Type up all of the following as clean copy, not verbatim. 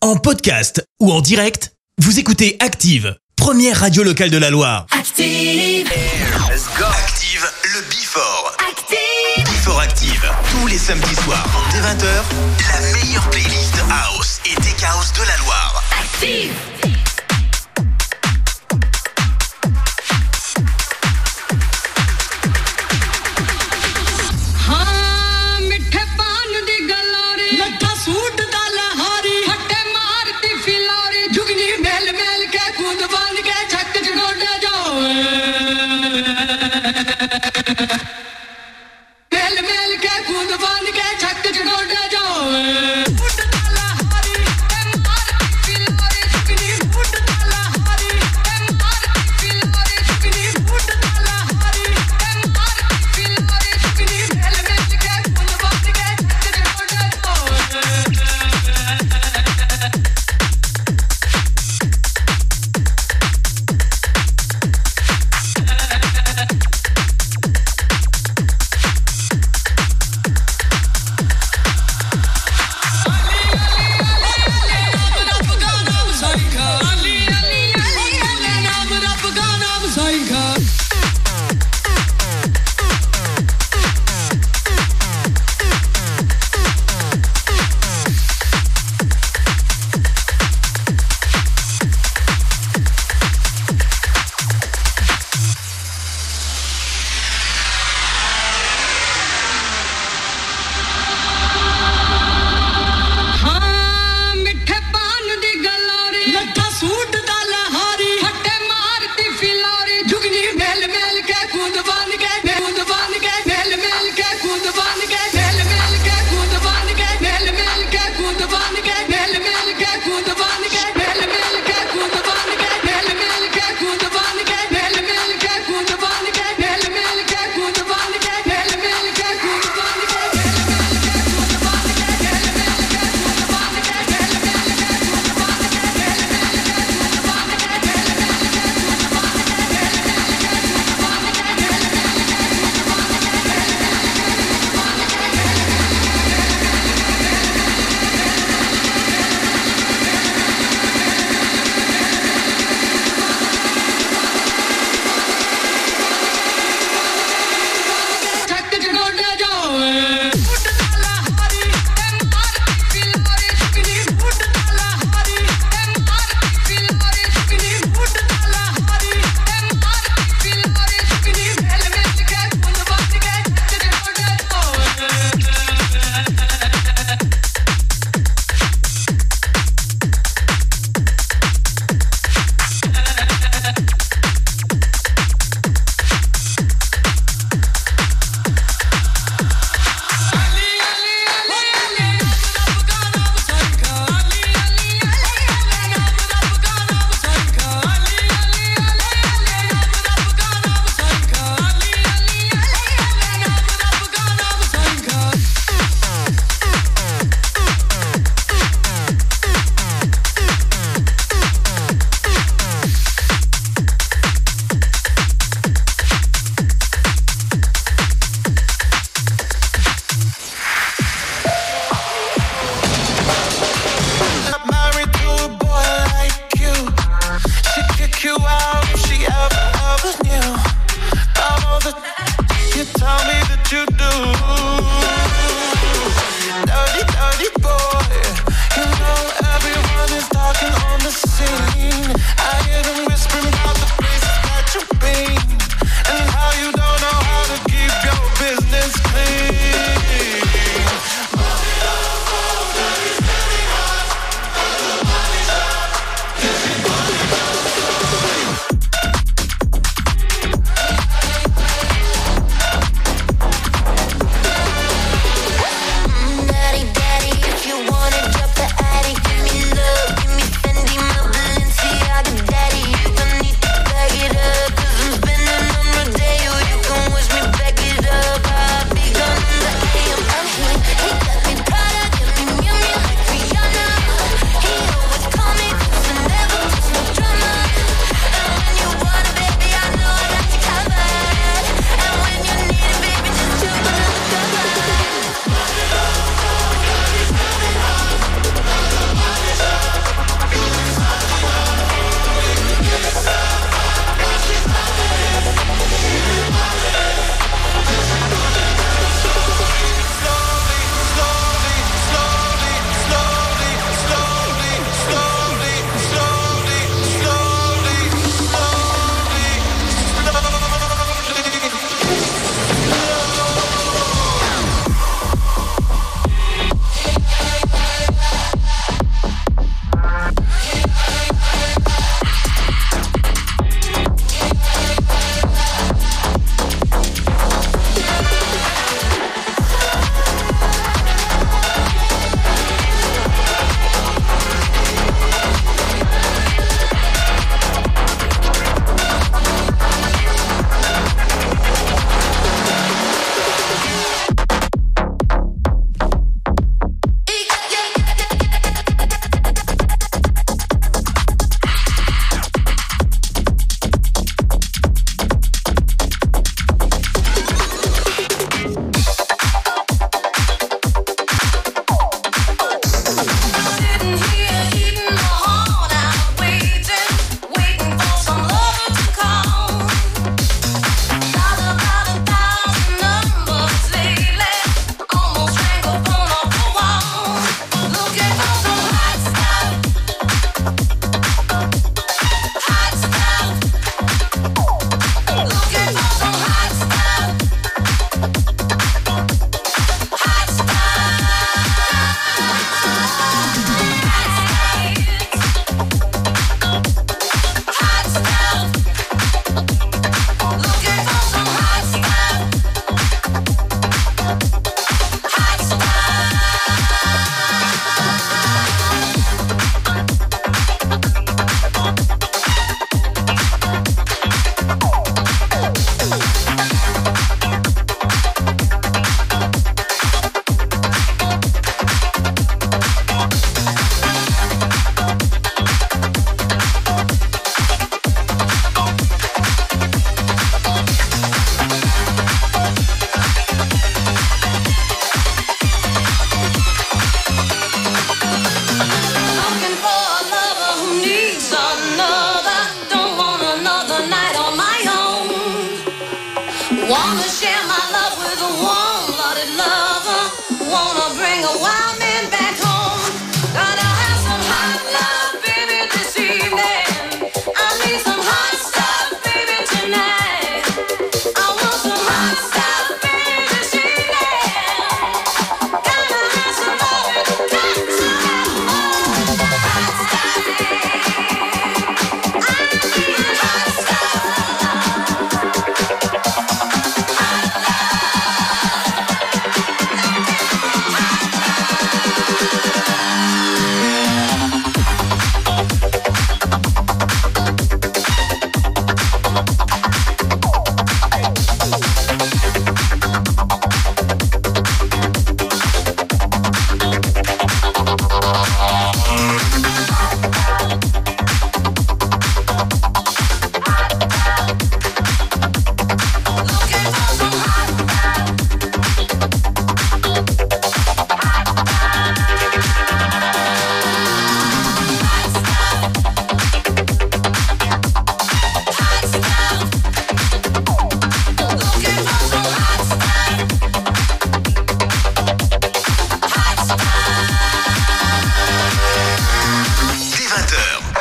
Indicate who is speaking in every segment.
Speaker 1: En podcast ou en direct, vous écoutez Active, première radio locale de la Loire.
Speaker 2: Active.
Speaker 1: Let's go. Active, le Before. Active. Before Active, tous les samedis soirs, dès 20h, la meilleure playlist house et tech house de la Loire.
Speaker 2: Active.
Speaker 3: Put the dollar, honey, and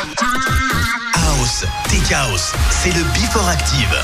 Speaker 1: House, Tech House, c'est le Before Active.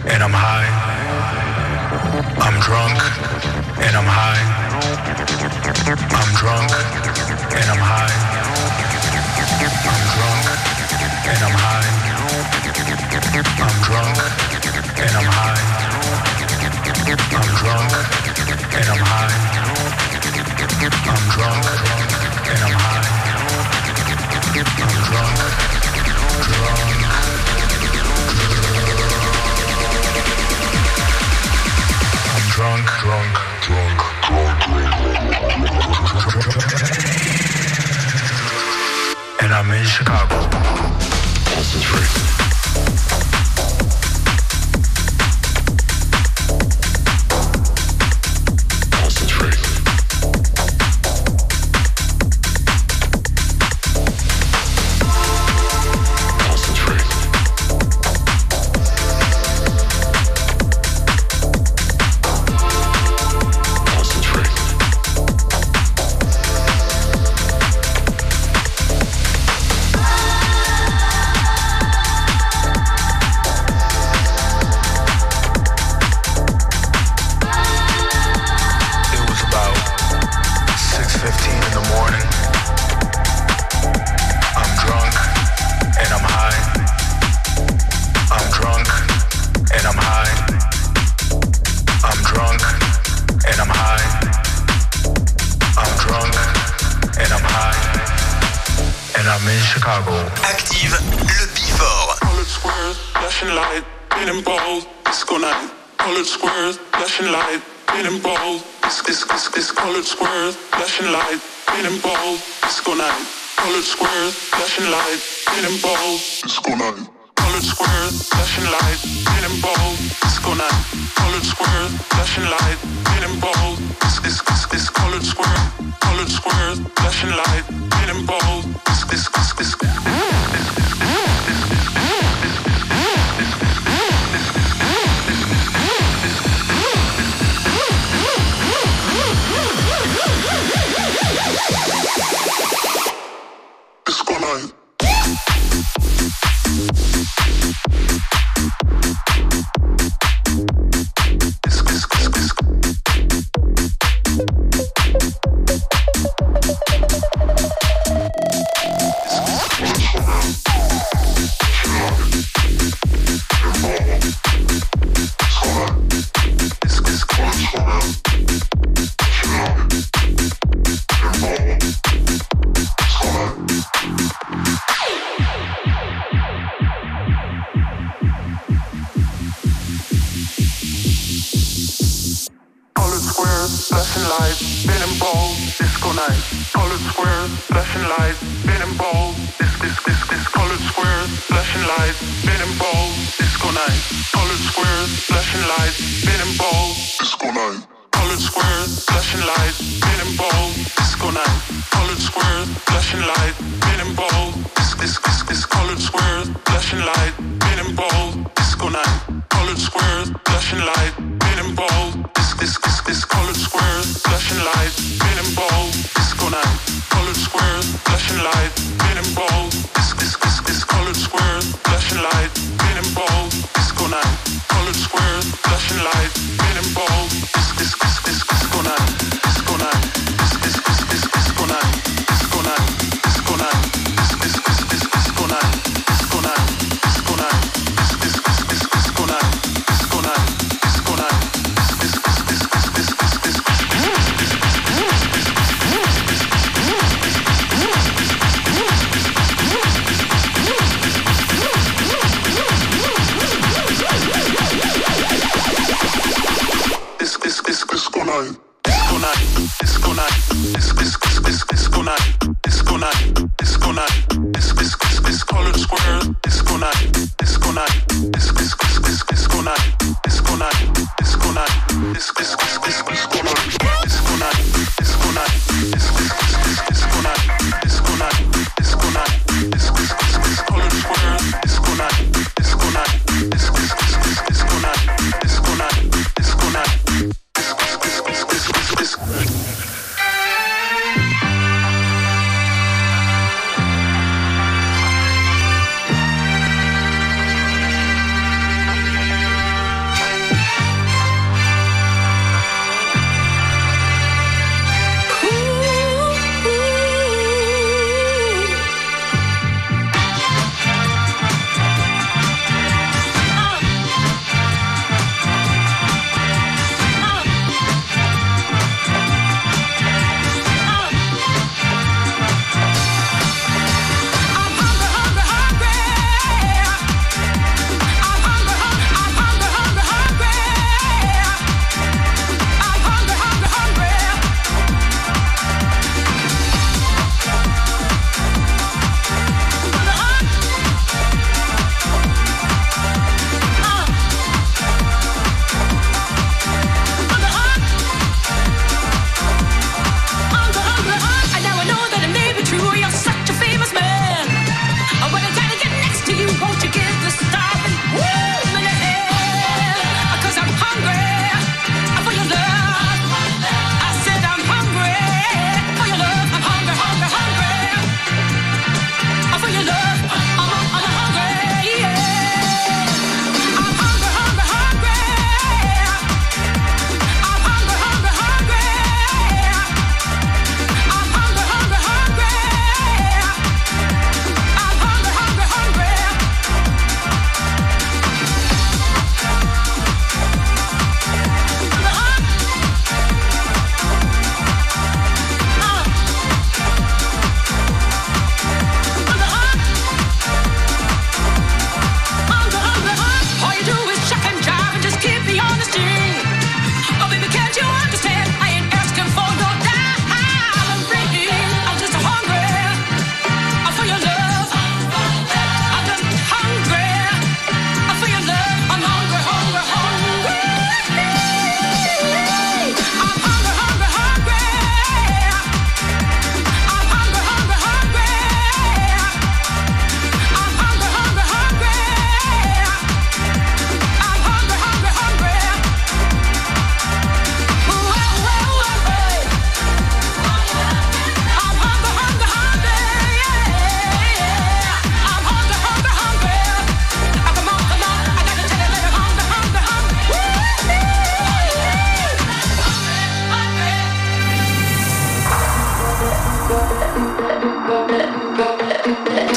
Speaker 2: and I'm high. I'm drunk and I'm high. I'm drunk and I'm high. I'm drunk and I'm high. I'm drunk and I'm high. I'm drunk and I'm high. I'm drunk and I'm high. I'm drunk, and I'm in Chicago. Concentrate.
Speaker 1: Active le Before.
Speaker 3: Colored squares, flashing light, getting bold, disco night. Colored squares, flashing light, getting bold. This colored squares, flashing light, getting bold, disco night. Colored squares, flashing light, getting bold, disco night. Colored squares, flashing light, getting bold, disco night. Colored squares, flashing light, getting bold. This colored squares, flashing light, getting bold. This. Disco night.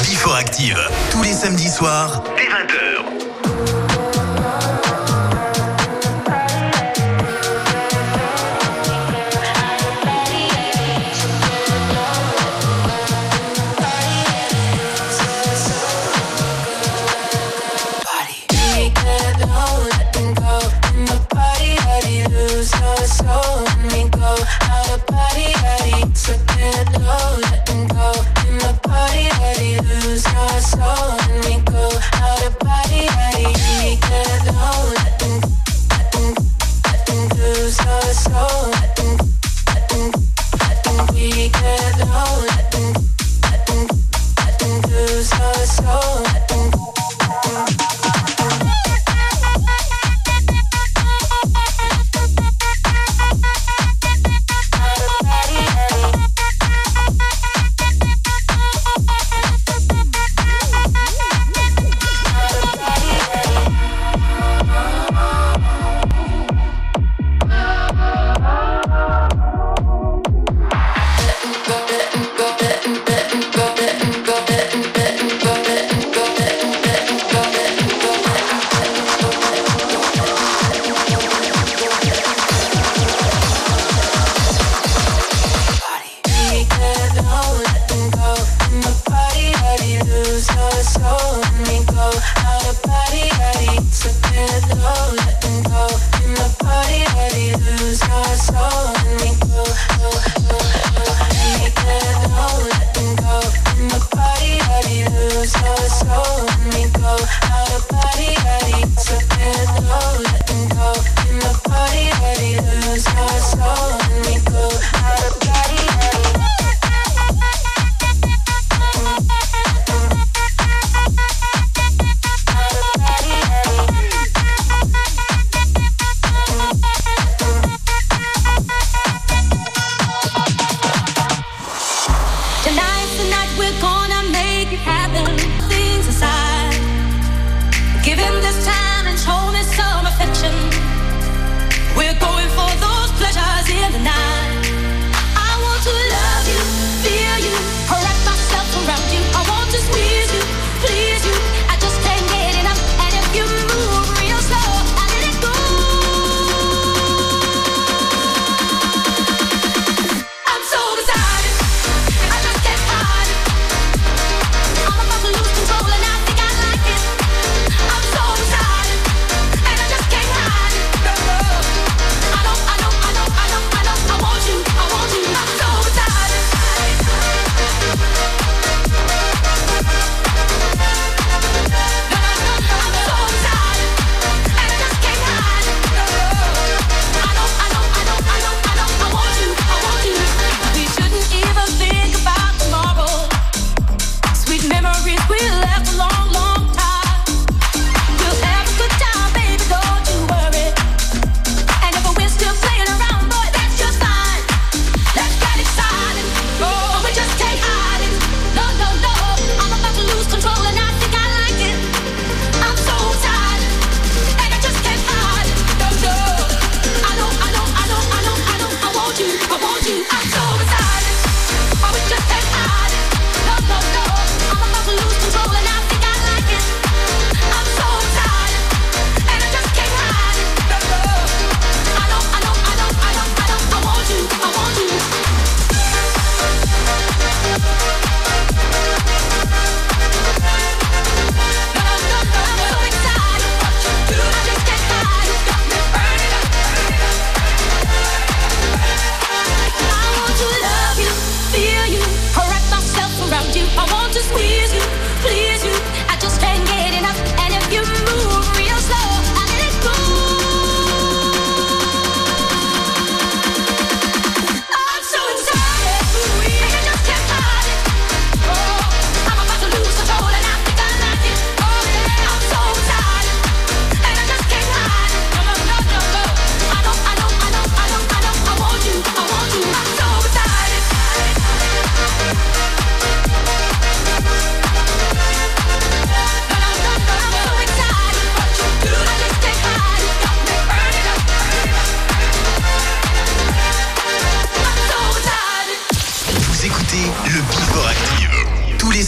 Speaker 1: Before Active, tous les samedis soirs, dès 20h.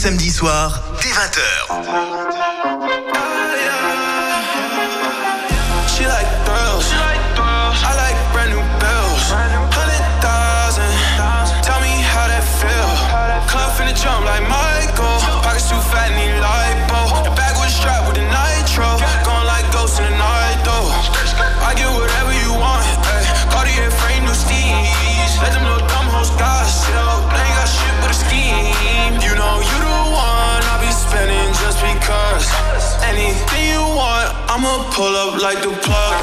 Speaker 1: samedis soirs, dès 20h.
Speaker 4: She like thrills. I like brand new bills. 100,000. Tell me how that feel. Club finna jump like Michael. Pockets too fat, need lipo. The bag was strapped with the nitro. Going like ghosts in the night though. I get whatever you want. Ay. Cartier frame, new steez. Let them little dumb hoes gossip. They ain't got shit but a scheme. You know you the one I'll be spending just because. Anything you want, I'ma pull up like the plug.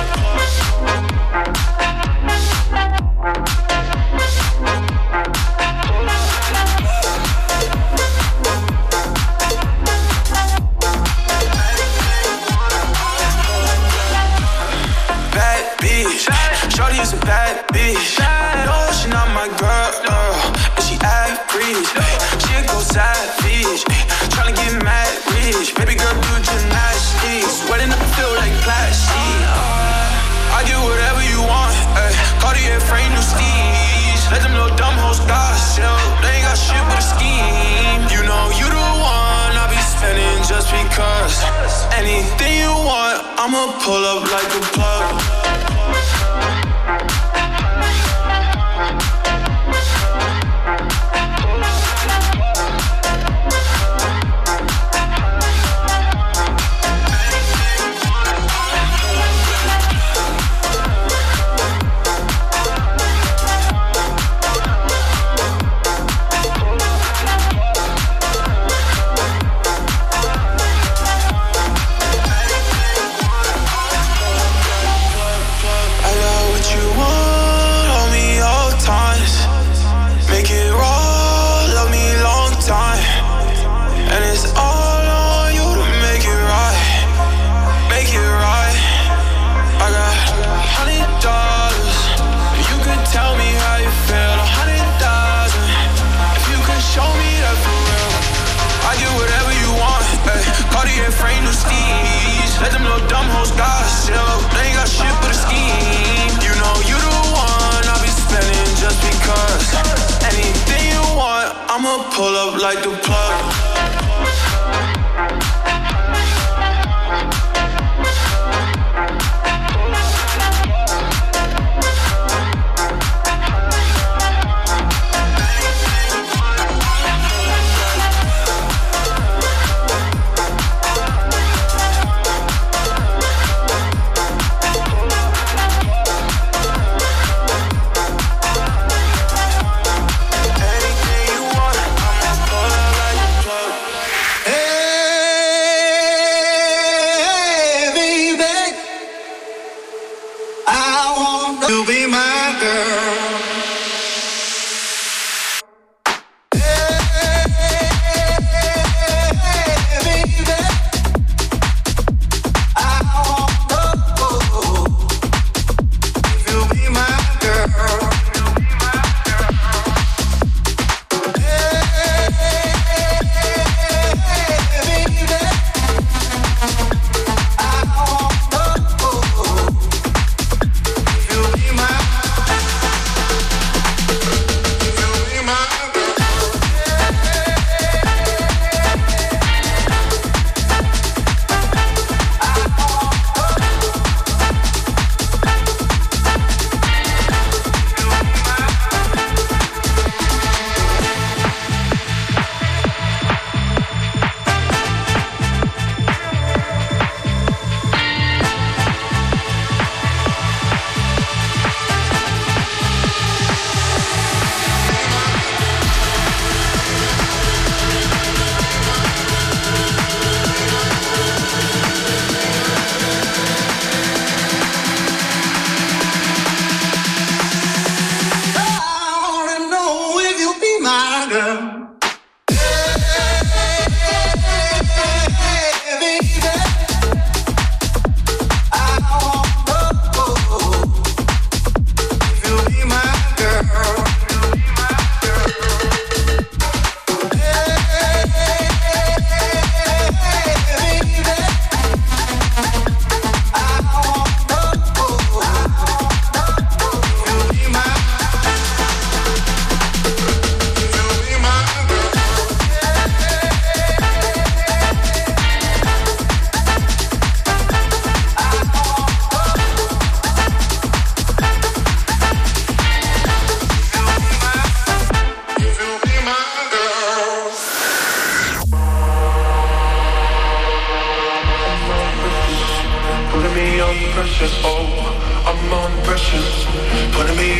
Speaker 4: Bad bitch, shorty is a bad bitch. No, she not my girl, and she average. She a go savage, tryna get mad rich. Baby girl do gymnastics, wetting up the field like plastic. I get whatever you want, ay. Cartier frame, new steez. Let them little dumb hoes gossip. They ain't got shit but a scheme. You know you the one I'll be spending just because. Anything you want, I'ma pull up like a plug. Frame new steez. Let them little dumb hoes gossip. They ain't got shit but a scheme. You know you the one I'll be spending just because. Anything you want, I'ma pull up like the plug.
Speaker 5: To be my girl.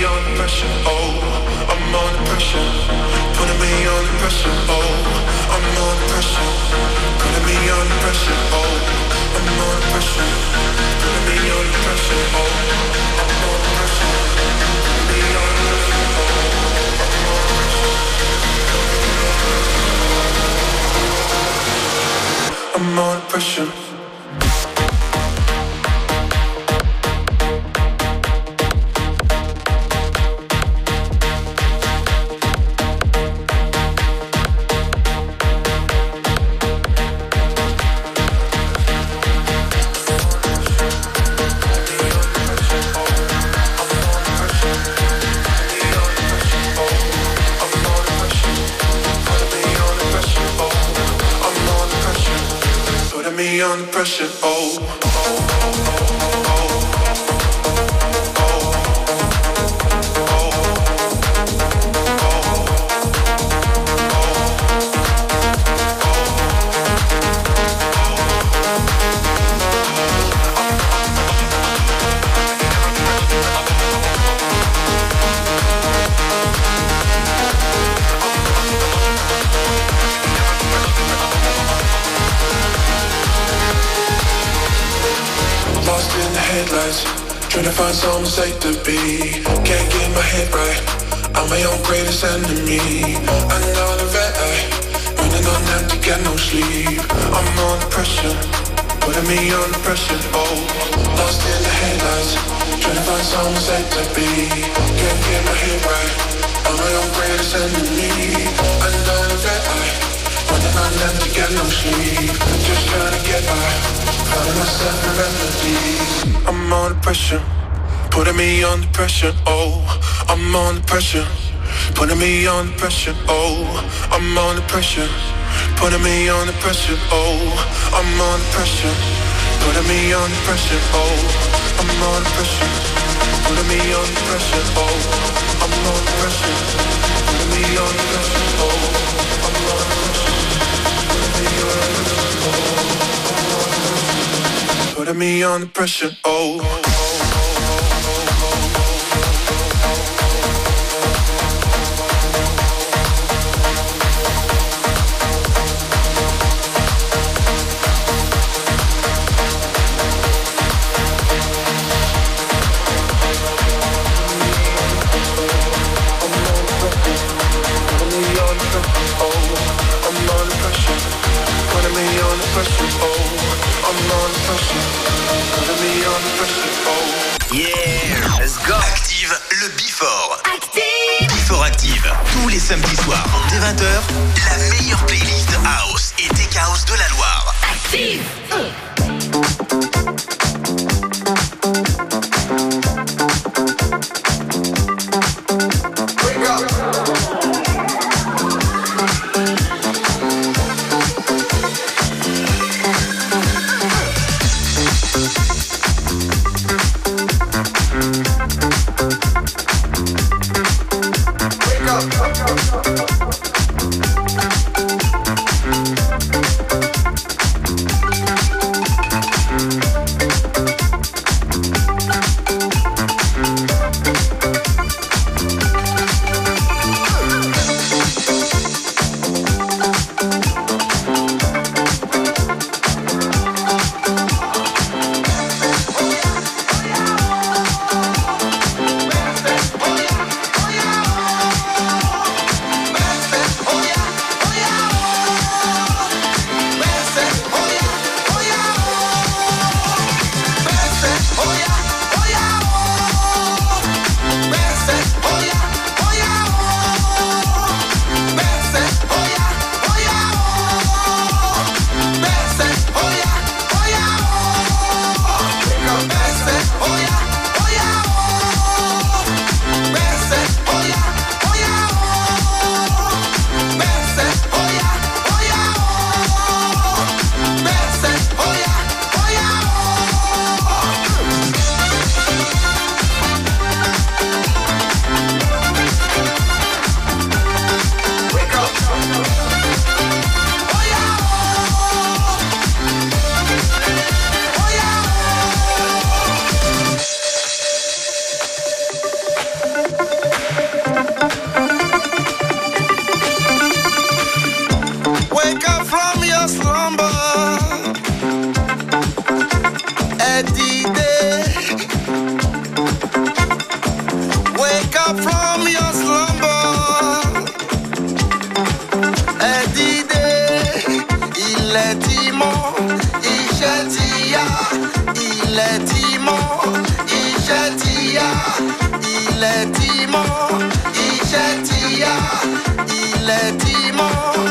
Speaker 3: under pressure, oh, I'm under pressure. Putting me under pressure, oh, I'm under pressure. Putting me under pressure, oh, I'm under pressure. Putting me under pressure, oh, I'm under pressure. Putting me under pressure, oh, I'm under pressure. Me under pressure, oh. Trying to find some safe to be. Can't get my head right. I'm my own greatest enemy. Another red eye, running on empty, get no sleep. I'm under pressure, putting me under pressure, oh. Lost in the headlights, trying to find some safe to be. Can't get my head right. I'm my own greatest enemy. Another red eye, running on empty, get no sleep. Just trying to get by, finding myself a remedy. I'm under pressure, putting me under pressure, oh. I'm under pressure, putting me under pressure, oh. I'm under pressure, putting me under pressure, oh. I'm under pressure, putting me under pressure, oh. I'm under pressure, putting me under pressure, oh. I'm under pressure, putting me under pressure, oh. I'm under pressure, putting me under pressure, oh. Putting me under pressure, oh.
Speaker 1: Yeah, let's go. Active le Before. Active. Before Active. Tous les samedis soirs, dès 20h, la meilleure playlist House et Tech House de la Loire. Active.
Speaker 5: from your slumber. Edide, il est immense, Ishetia, il est immense, Ishetia, il est immense, Ishetia, il est immense.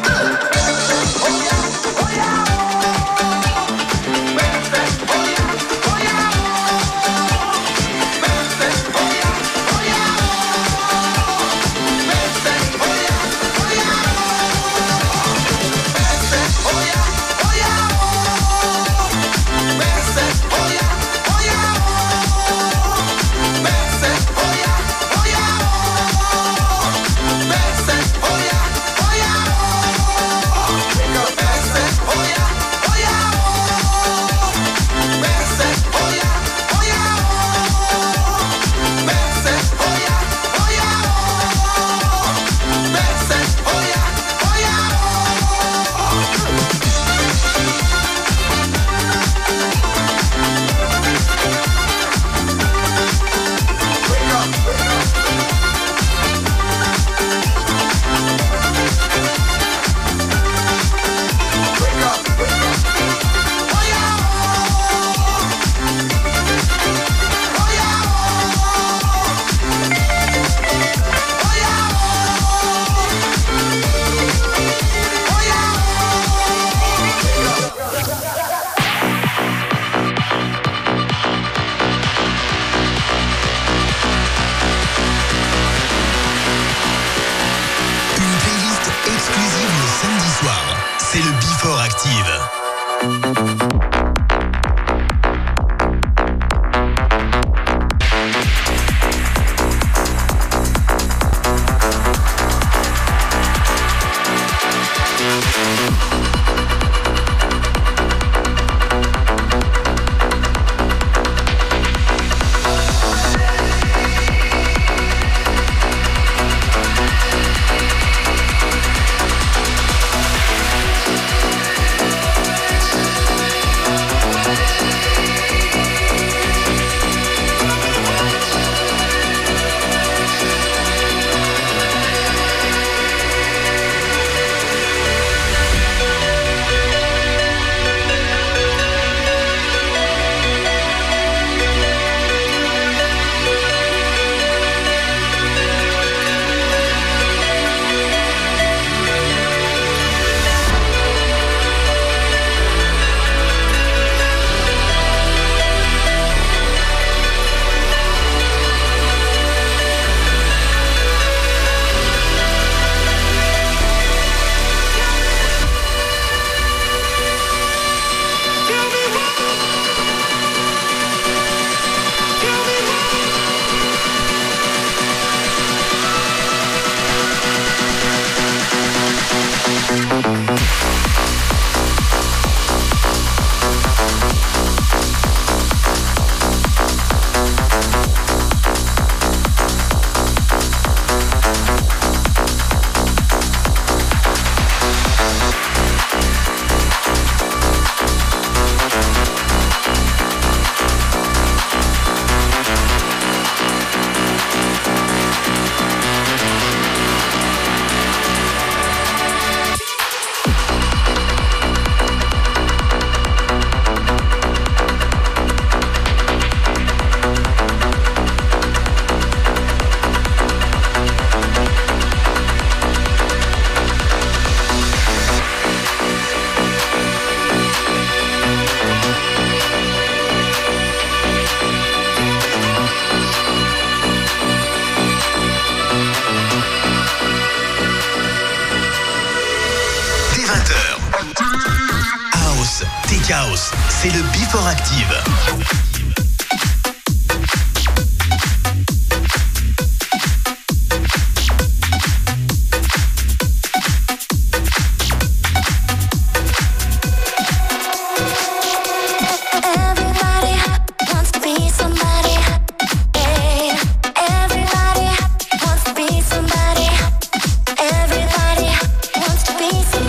Speaker 1: House, c'est le Before Active.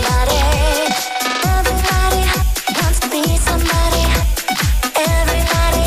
Speaker 6: Everybody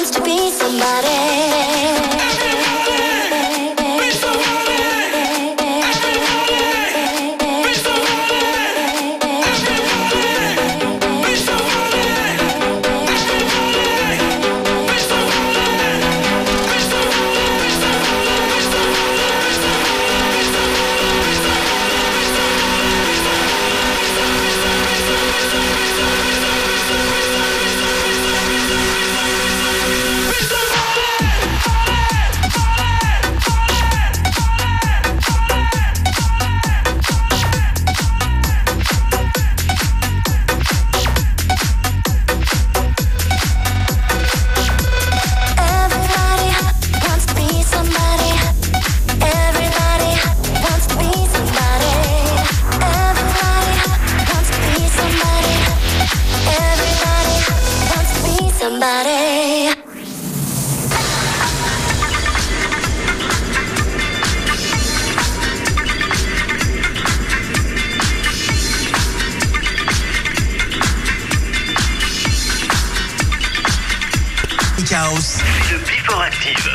Speaker 1: House, le Before Active.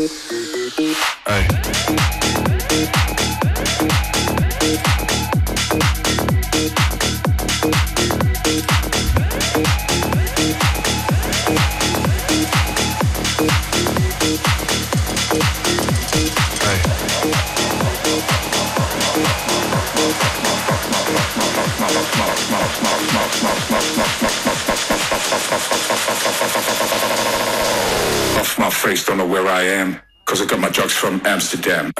Speaker 2: Off my face, don't know where I am, 'cause I got my drugs from Amsterdam.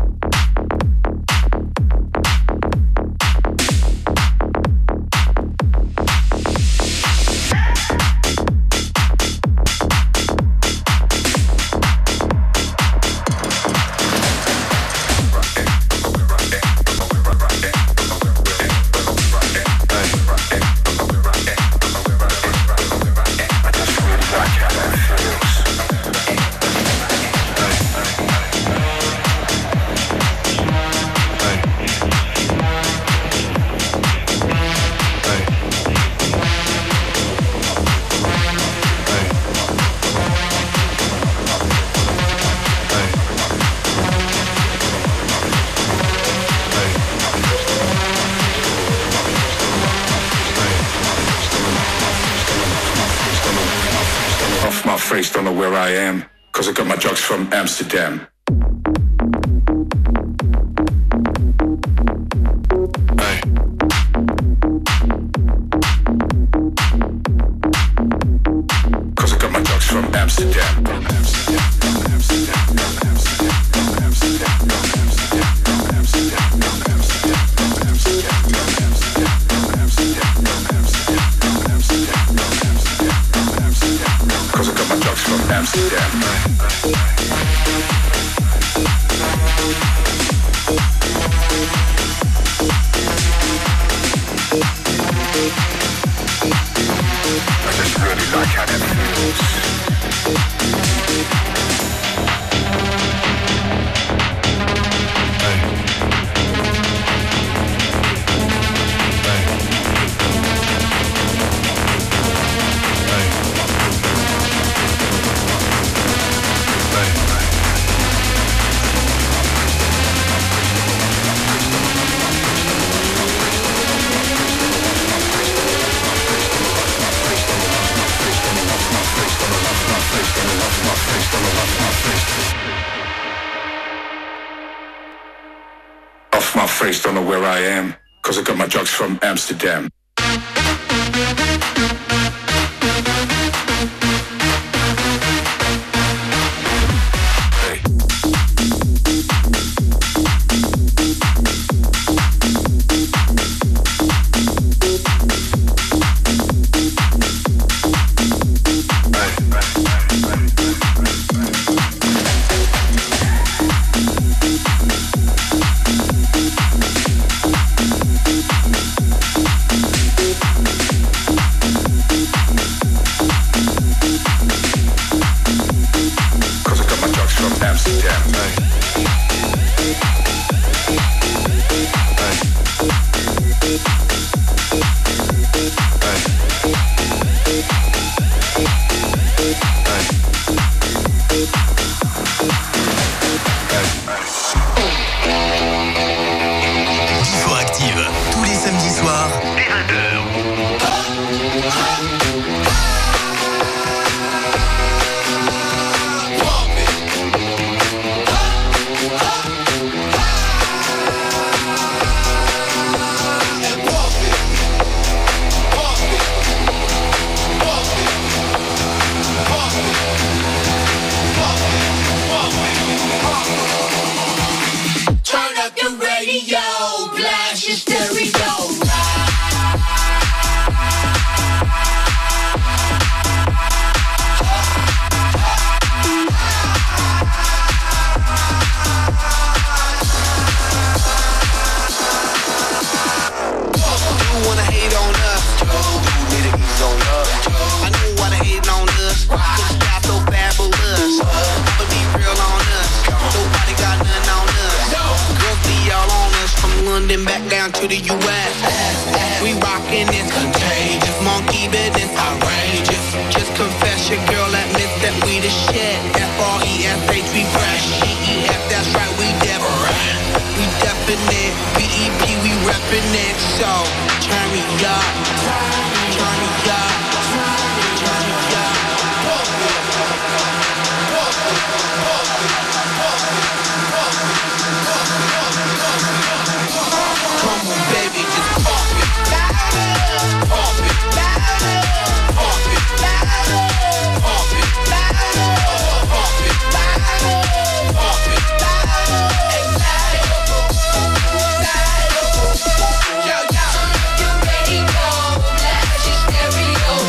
Speaker 2: Don't know where I am, 'cause I got my drugs from Amsterdam. Don't know where I am, 'cause I got my drugs from Amsterdam.
Speaker 5: Rockin' is contagious, monkey business outrageous. Just confess your girl at Miss
Speaker 6: that we the shit. F-R-E-S-H, we fresh. E-E-F, that's right, we different. We definite. B-E-P, we reppin' it. So, turn me up. Turn me up. Turn me up. Come on, baby, just pump it. Pump it. Pump it. Pump it. Pump it. Pump it. Yo, yo. You ready, go. Blast your stereo.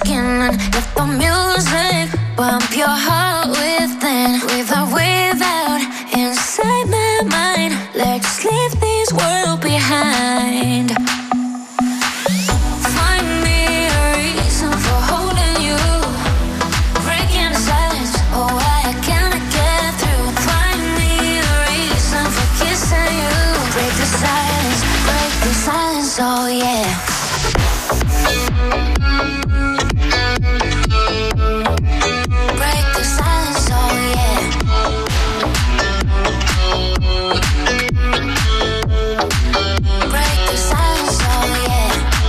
Speaker 7: skin and let the music bump your heart within. Without, inside my mind. Let's leave this world behind. Find me a reason for holding you. Breaking the silence, oh I cannot get through. Find me a reason for kissing you. Break the silence, oh yeah. Break the silence, oh yeah. Break the silence, oh yeah.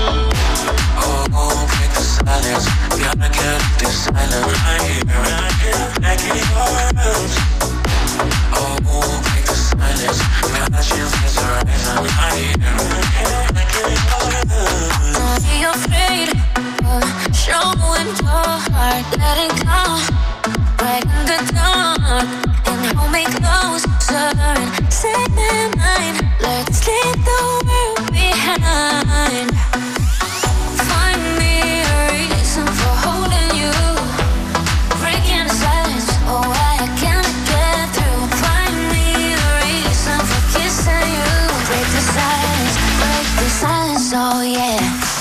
Speaker 4: Oh, break the silence. Gotta get this silence right here, making your moves. Oh, break the silence. Gotta change this horizon right here, making your moves.
Speaker 7: Don't be afraid of showing your heart. Let it go right in the dark and hold me closer and set my mind. Let's leave the world behind. Find me a reason for holding you. Breaking the silence, oh I can't get through. Find me a reason for kissing you. Break the silence, oh yeah.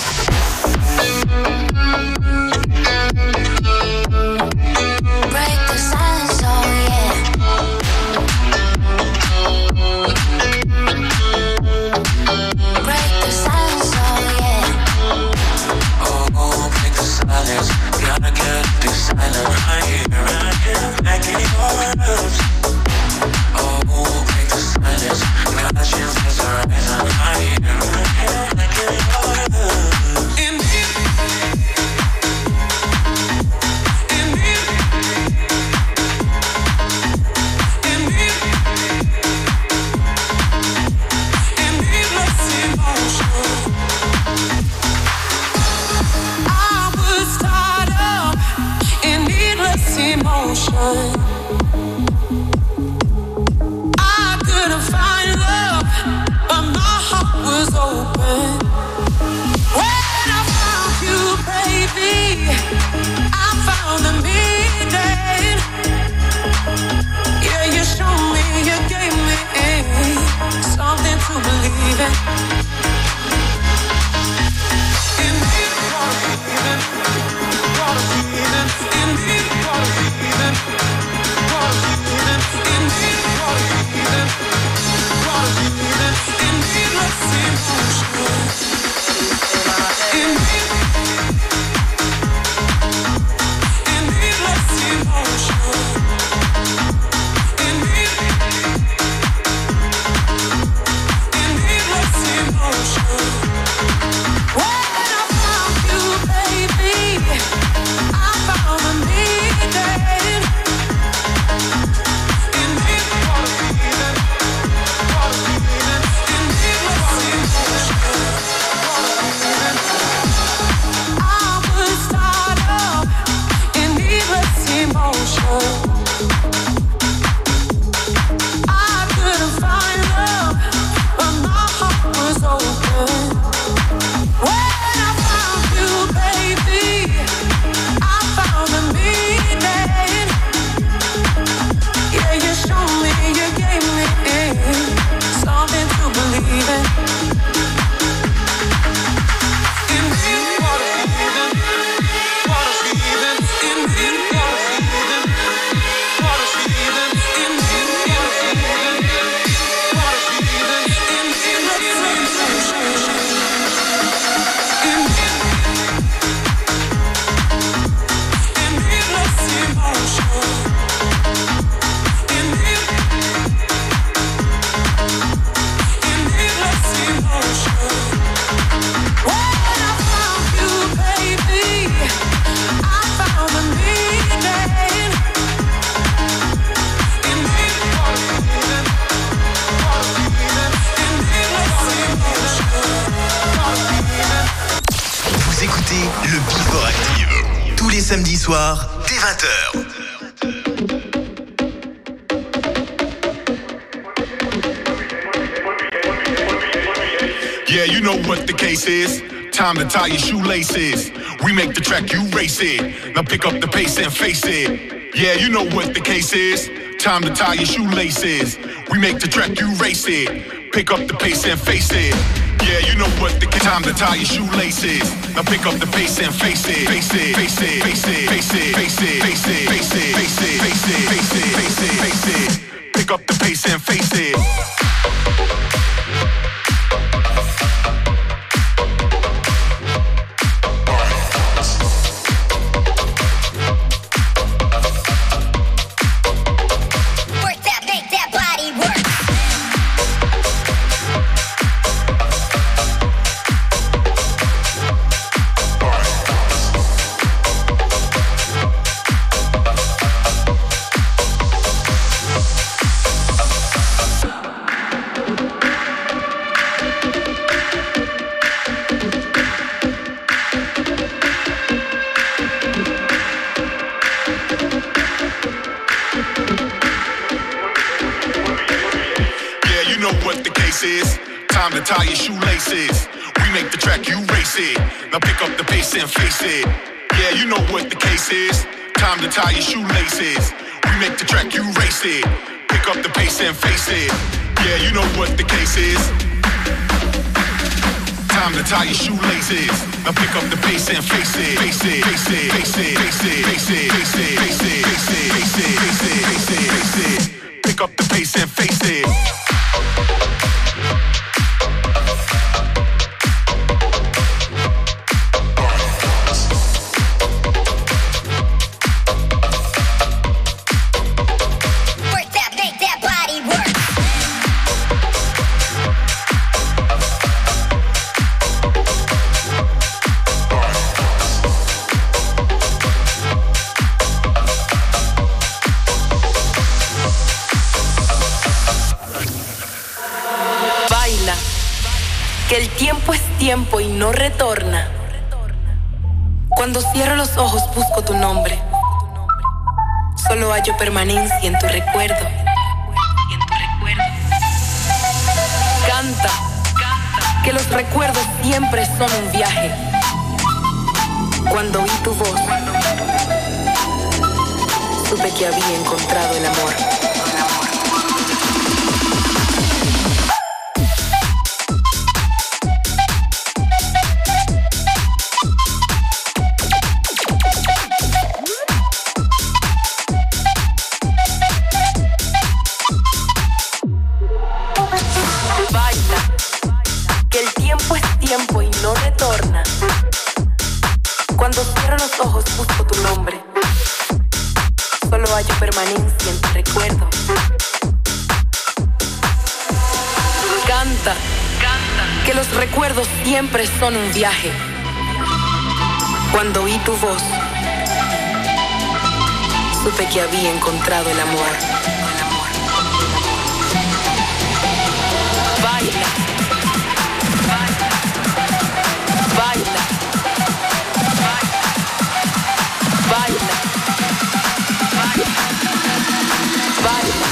Speaker 7: Break the silence, oh yeah. Break the silence, oh yeah.
Speaker 4: Oh, break the silence. Gotta get this silence right here, making your moves. Oh, break the silence. Gotta change this horizon right here, making your moves. Indeed.
Speaker 8: Emotion. I couldn't find love, but my heart was open. When I found you, baby, I found the meaning. Yeah, you showed me, you gave me something to believe in. Indeed, what a feeling, what a feeling. Indeed, what a feeling, what a feeling. Indeed, what a feeling, what a feeling. Indeed, let's see emotion. Indeed, indeed, let's see emotion. Indeed, indeed, let's see emotion. When I found you, baby, I found the meaning. Indeed, what a feeling, what a feeling. Indeed, let's see emotion. What a feeling. I was tied up in needless emotion. I couldn't find love, but my heart was open. When I found you, baby, I found the meaning. Yeah, you showed me, you gave me something to believe in. Indeed, what a feeling, what a feeling. Indeed, what a feeling, what a feeling. Indeed, what a feeling, what a feeling. Indeed, let's see emotion. Indeed, indeed, let's see emotion. Indeed, indeed, let's see emotion. When I found you, baby, I found the meaning. Indeed, what a feeling, what a feeling. Indeed, let's see emotion. What a feeling.
Speaker 1: Vous écoutez le Before Active tous les samedis soirs dès 20h.
Speaker 2: Yeah, you know what the case is. Time to tie your shoelaces. We make the track, you race it. Now pick up the pace and face it. Yeah, you know what the case is. Time to tie your shoelaces. We make the track, you race it. Pick up the pace and face it. Yeah, you know what the time to tie your shoelaces. Now pick up the pace and face it. Face it, face it, face it, face it, face it, face it, face it, face it, face it, face it, face it, face it. Pick up the pace and face it. Time to tie your shoelaces. We make the track, you race it. Now pick up the pace and face it. Yeah, you know what the case is. Time to tie your shoelaces. We make the track, you race it. Pick up the pace and face it. Yeah, you know what the case is. Time to tie your shoelaces. Now pick up the pace and face it. Face it, face it, face it, face it, face it, face it, face it, face it, face it, face it, face it, face it. Pick up the pace and face it.
Speaker 9: Tiempo y no retorna. Cuando cierro los ojos busco tu nombre. Solo hallo permanencia en tu recuerdo. Canta, que los recuerdos siempre son un viaje. Cuando oí tu voz, supe que había encontrado el amor. Siempre son un viaje. Cuando oí tu voz, supe que había encontrado el amor. Baila, baila, baila, baila, baila, baila, baila.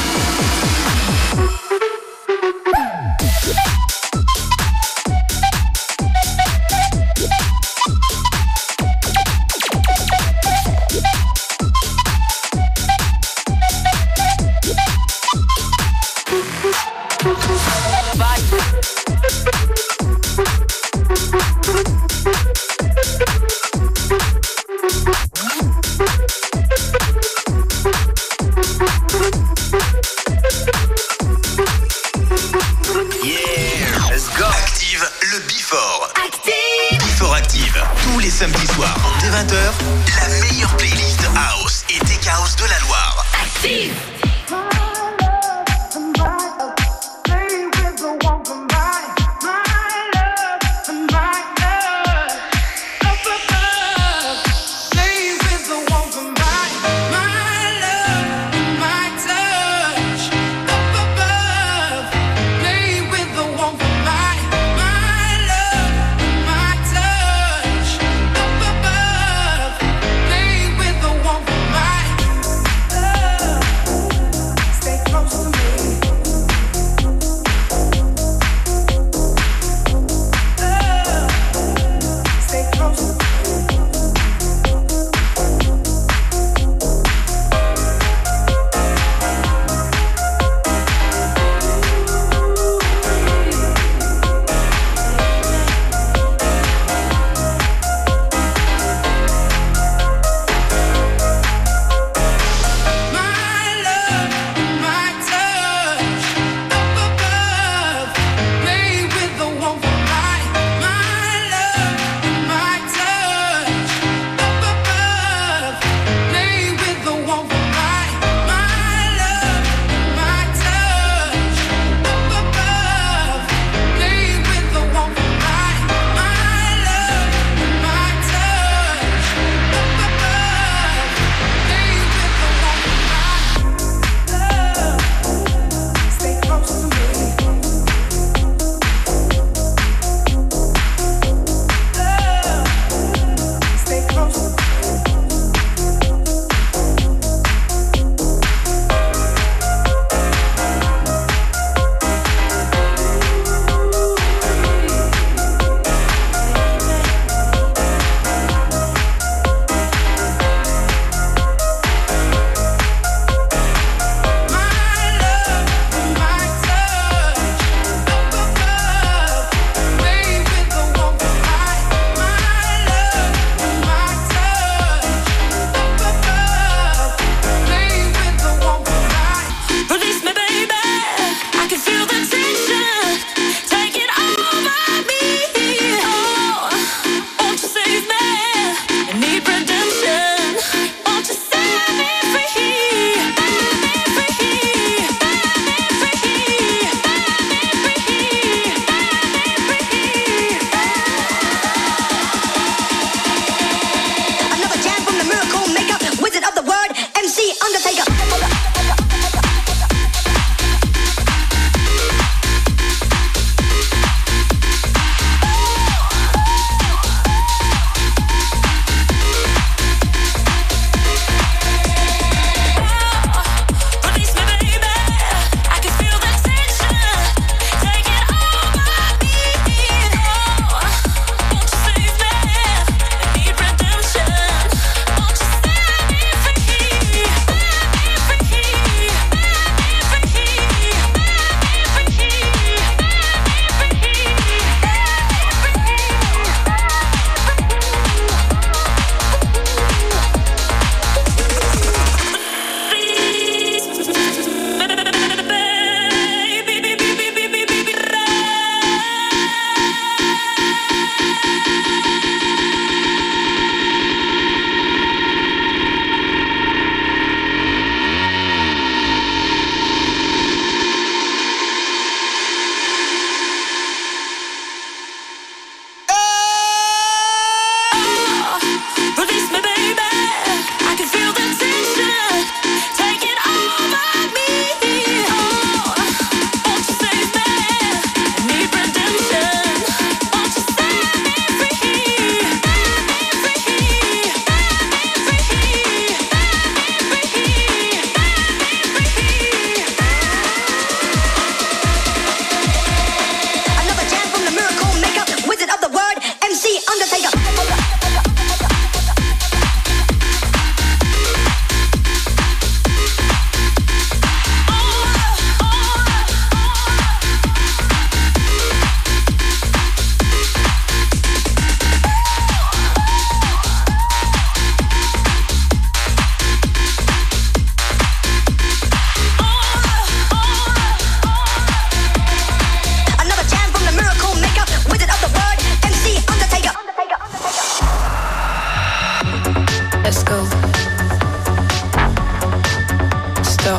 Speaker 9: Stop.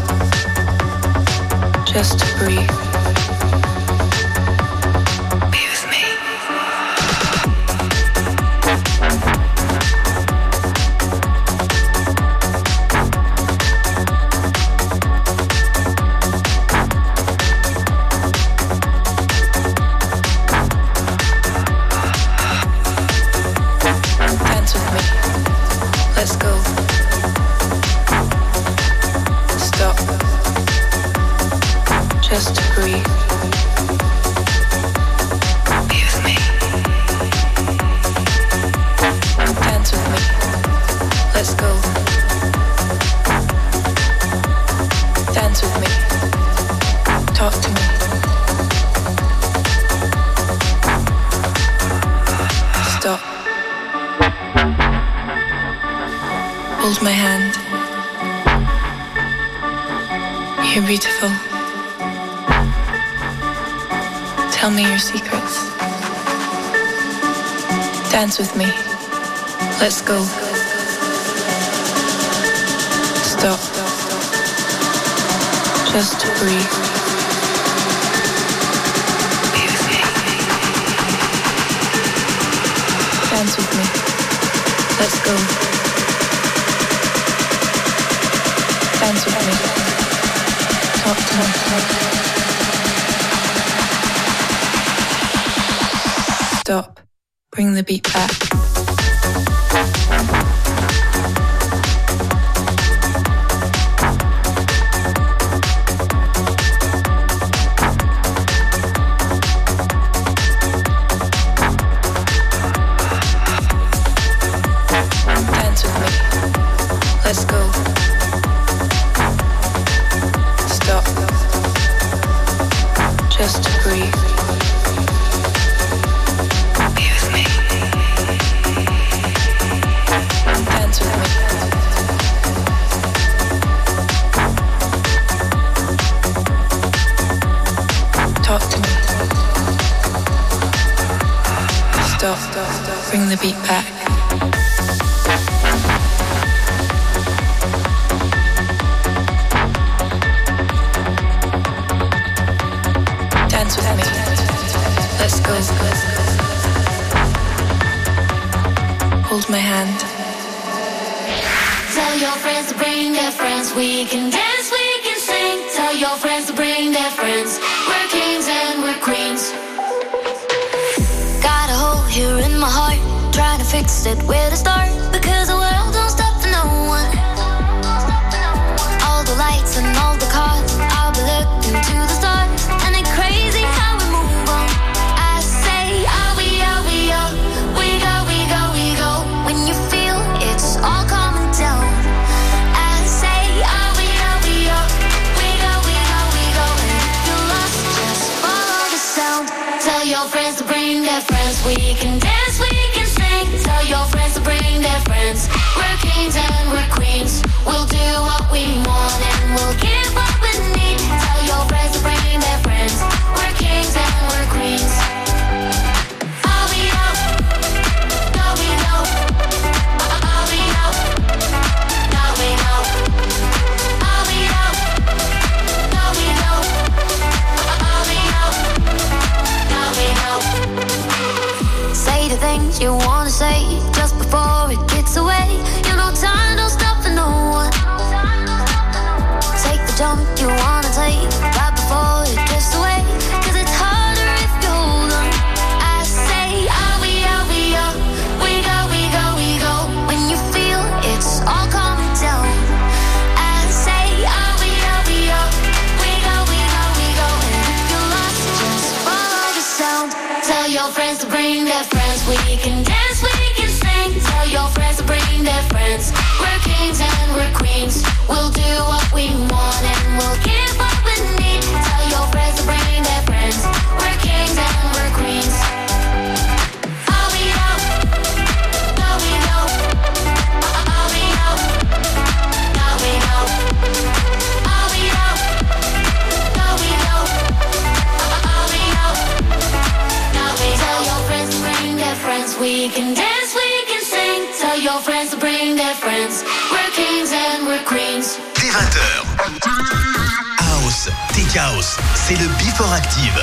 Speaker 9: Just to breathe. Be with me. Dance with me. Let's go. Stop. Just to breathe. Be with me. Dance with me. Let's go. Dance with me. Talk to me. Stop. Hold my hand. You're beautiful. Tell me your secrets. Dance with me. Let's go. Stop. Just to breathe. Be with me. Dance with me. Let's go. Dance with me. Talk to me. Stop. Bring the beat back. Dance with me. Let's go. Stop. Just to breathe. Be with me. Dance with me. Talk to me. Stop. Bring the beat back. Dance with me. Let's go. Hold my hand.
Speaker 7: Tell your friends to bring their friends. We can dance, we can sing. Tell your friends to bring their friends. We're kings and we're queens. Got a hole here in my heart. Trying to fix it, where to start? Because the world don't stop for no one. All the lights and all the cars, I'll be looking to the stars. And it's crazy how we move on. I say, are we, we go, we go, we go. When you feel it's all coming down. I say, are we, we go, we go, we go. And if you're lost, just follow the sound. Tell your friends to bring their friends. We can dance, we can sing. Tell your friends to bring their friends. We're kings and we're queens. We'll do what we want and we'll give what we need. Tell your friends to bring their friends. We're kings and we're queens. Are we out? No, we know. Are we out? No, we know. Are we out? No, we know. Are we out? No, we know. Say the things you wanna say just before it gets away. You know time don't stop for no one. Take the jump you wanna take right before it gets away. 'Cause it's harder if you hold on. I say, are we, we go, we go, we go. When you feel it's all coming down. I say, are we, we go, we go, we go. And if you're lost, just follow the sound. Tell your friends to bring their friends. We can dance, we can sing. Tell your friends to bring their friends. We're kings and we're queens. We'll do what we want and we'll give what we need. Tell your friends to bring their friends. We're kings and we're queens. Are we out? No, we know. Are we out? No, we know. Are we out? No, we know. Are we out? No, we know. Tell your friends to bring their friends. We can dance, we can sing. Tell your friends to bring their friends. We're kings and we're queens.
Speaker 1: 20h. House, Tech House, c'est le Before Active.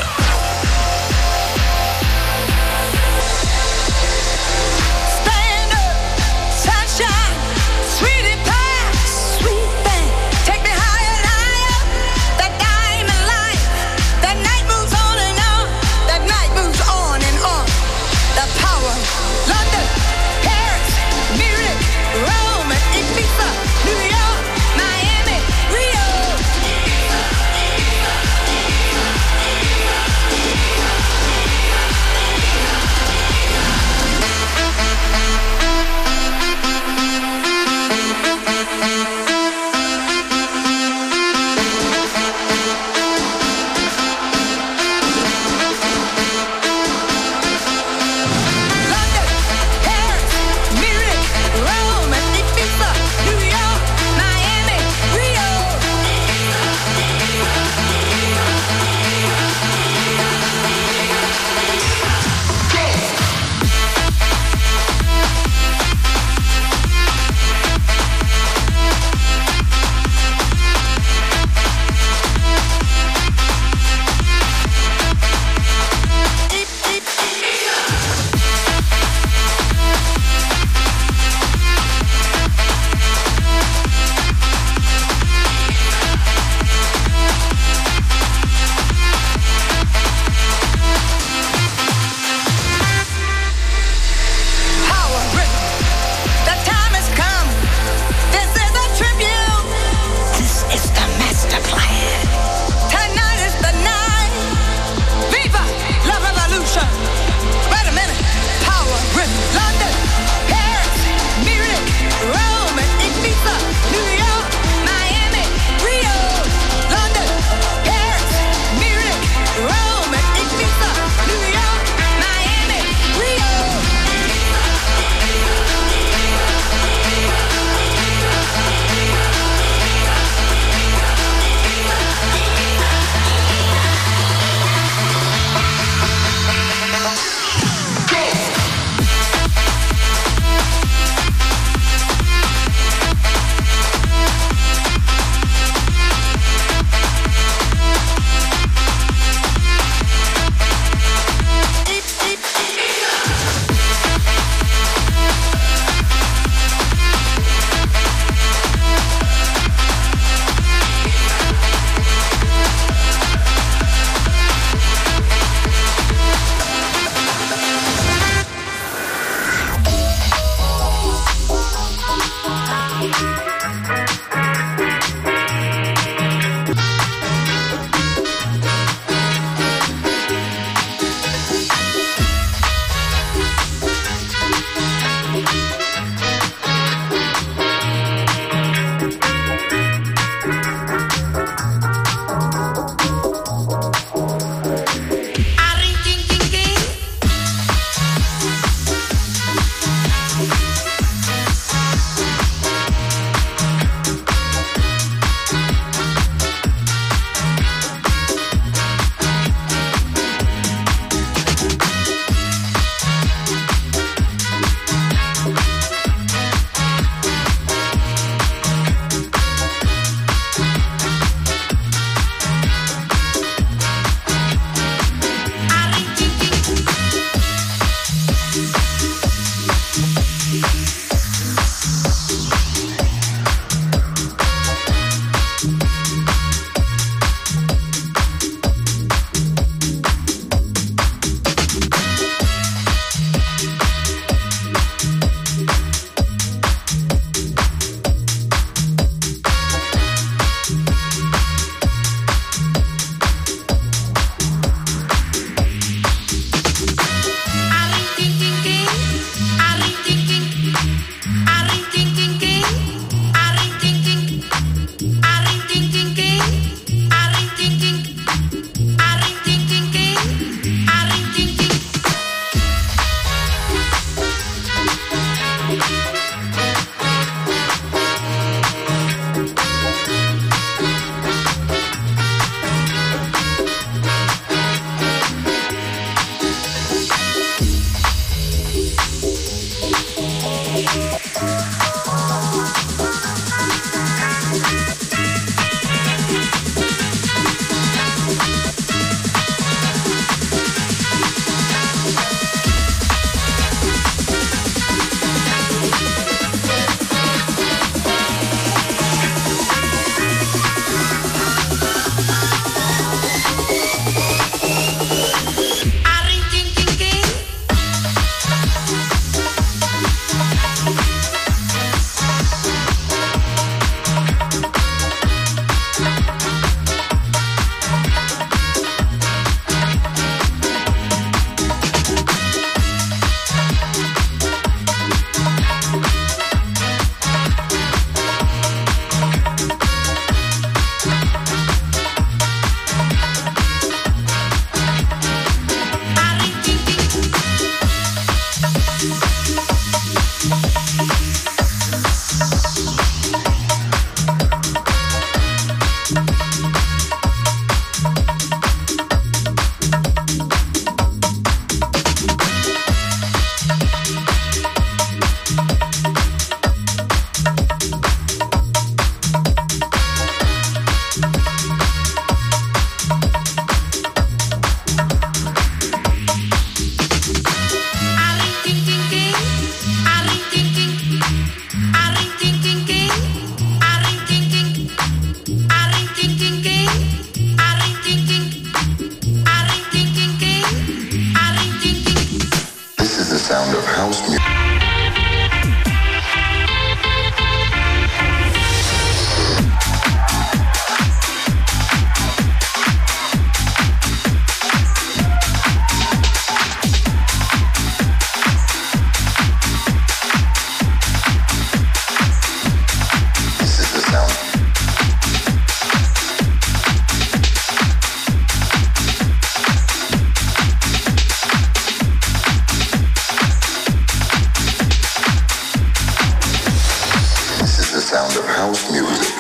Speaker 10: of house music.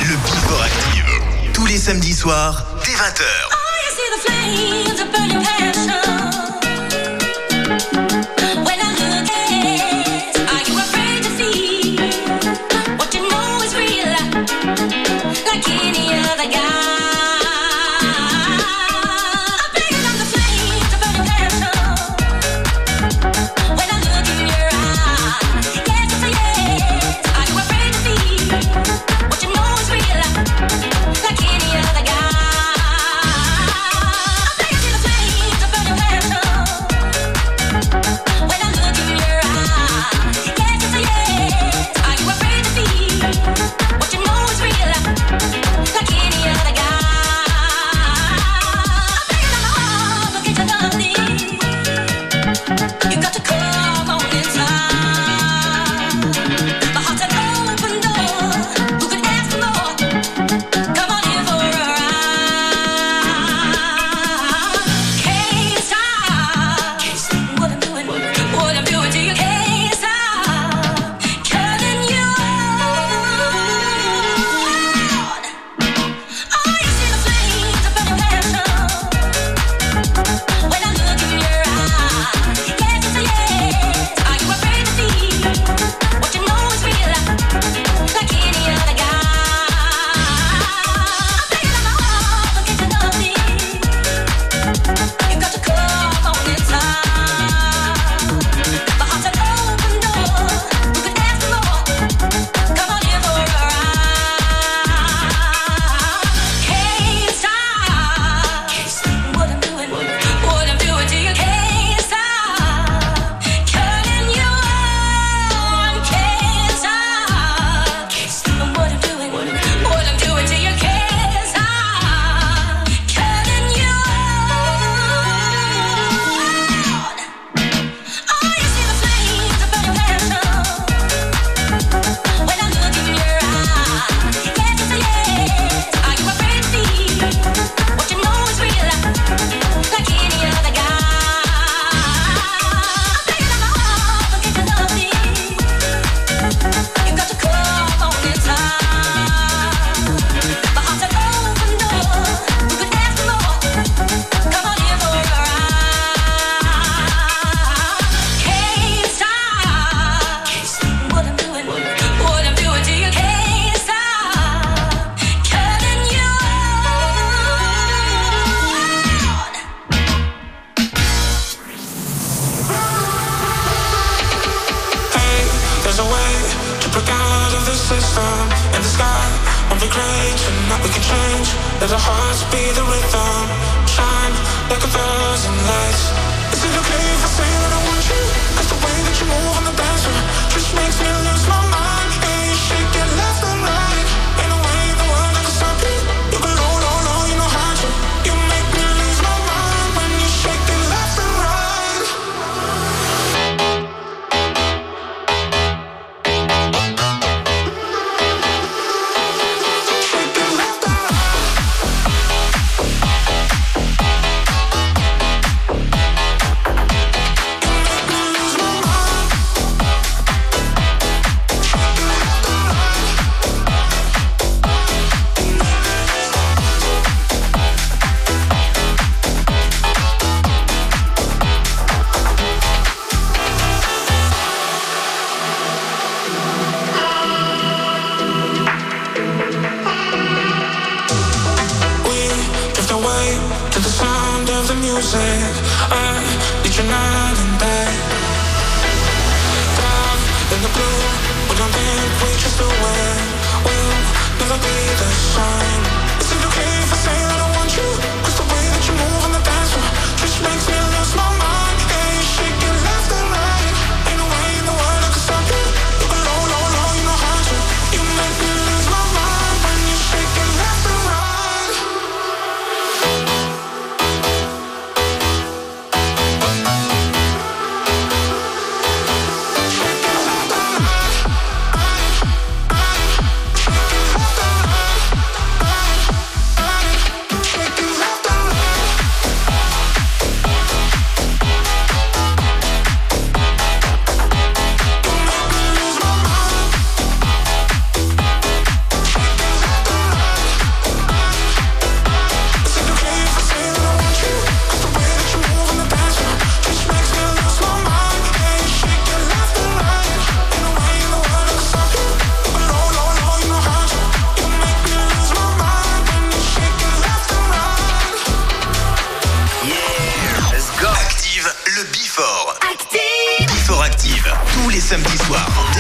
Speaker 1: le Before Active. Tous les samedis soirs, dès 20h.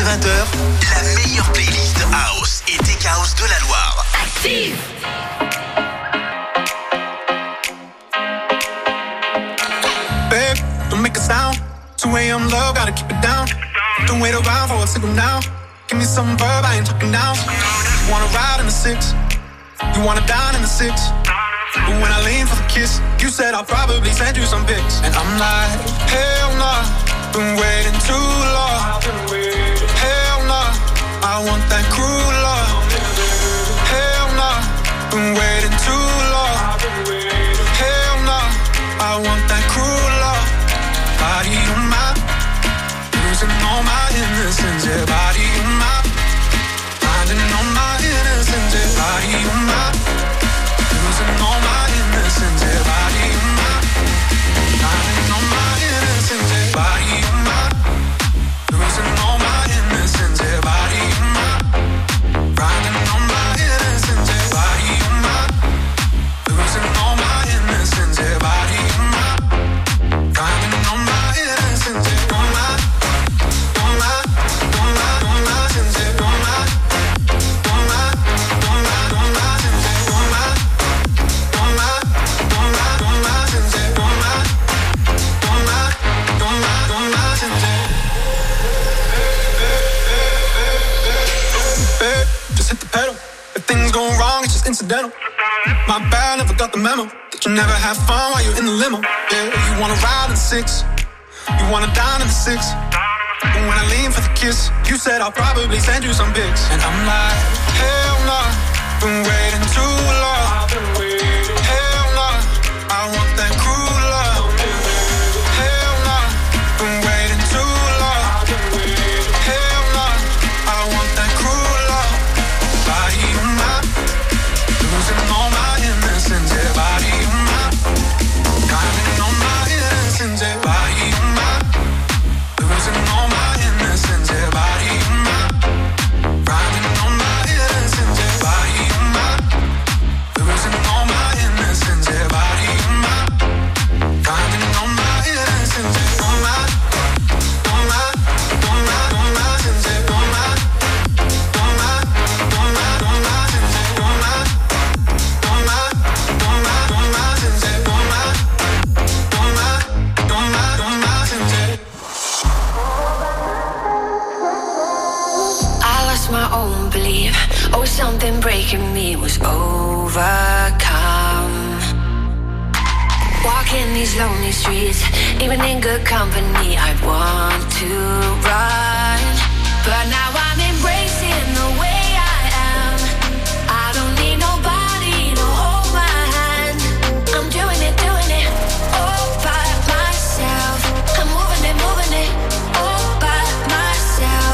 Speaker 1: 20h, la meilleure playlist House et Tech House de la Loire.
Speaker 7: Active!
Speaker 3: Babe, don't make a sound. 2 a.m. love, gotta keep it down. Don't wait around for a signal now. Give me some verb, I ain't talking now. You wanna ride in the 6, you wanna dine in the 6. But when I lean for the kiss, you said I'll probably send you some pics. And I'm like, hell nah, been waiting too long. Hell nah, I want that cruel love. Hell nah, been waiting too long. Hell nah, I want that cruel love. Body on my, losing all my innocence. Yeah, body on my, finding all my innocence. Yeah, body on my, losing all my innocence. Yeah, body on my, finding all my innocence. Yeah, body on my, losing all my innocence. Yeah, body on my, finding all my innocence. Yeah, body on my, losing all my innocence. Yeah, body on my, finding all my innocence. Yeah, all my, all my, all my, all my innocence. Yeah, all my, all my, all my, all my innocence. Yeah, all my, all my, all my, all my innocence. Yeah, all my, all my, all my, all my innocence. Babe, just hit the pedal. If things go wrong, it's just incidental. My bad, never got the memo that you never have fun while you're in the limo. Yeah, you wanna ride in the 6, you wanna dine in the 6. But when I lean for the kiss, you said I'll probably send you some pics. And I'm like, hell nah, been waiting too long. Hell nah, I want that cruel love. Hell nah, been waiting too long. Hell nah, I want that cruel love. Body on my, losing all my innocence. Yeah, body on my, finding all my innocence. Yeah, body on my, losing all my innocence. Yeah, body on my, finding all my innocence. Yeah, body on my, losing all my innocence. Yeah, body on my, finding all my innocence. Yeah, all my, all my, all my, all my innocence. Yeah, all my, all my, all my, all my innocence. Yeah, all my, all my, all my, all my innocence. Yeah, all my, all my, all my, all my innocence. Yeah.
Speaker 7: I lost my own belief. Oh, something breaking me was overcome. Walking these lonely streets, even in good company, I want to run. But now I'm embracing the way I am. I don't need nobody to hold my hand. I'm doing it all by myself. I'm moving it all by myself.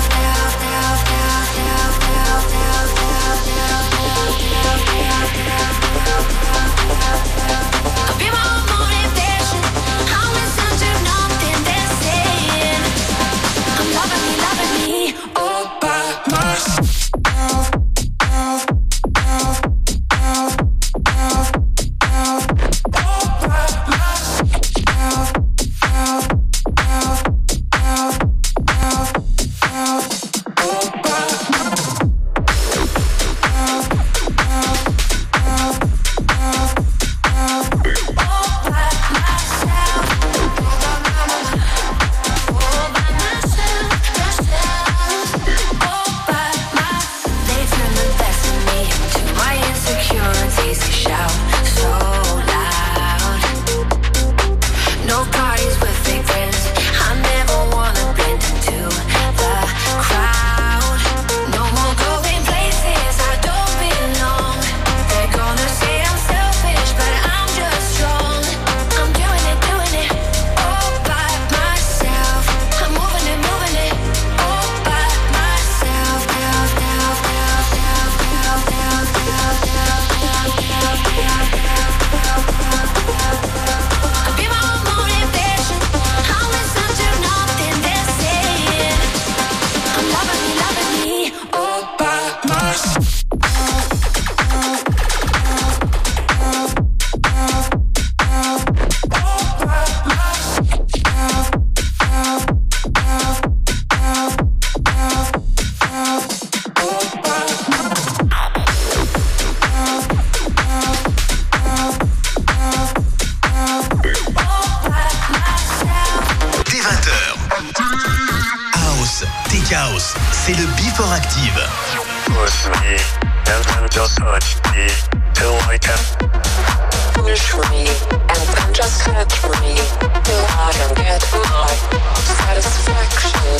Speaker 7: I'll be my own motivation. I'll listen to nothing they're saying. I'm loving me all by
Speaker 1: c'est le Before Active.
Speaker 10: Push me, and then just touch me, till I can.
Speaker 11: Push me, and then just touch me, till I can get my satisfaction.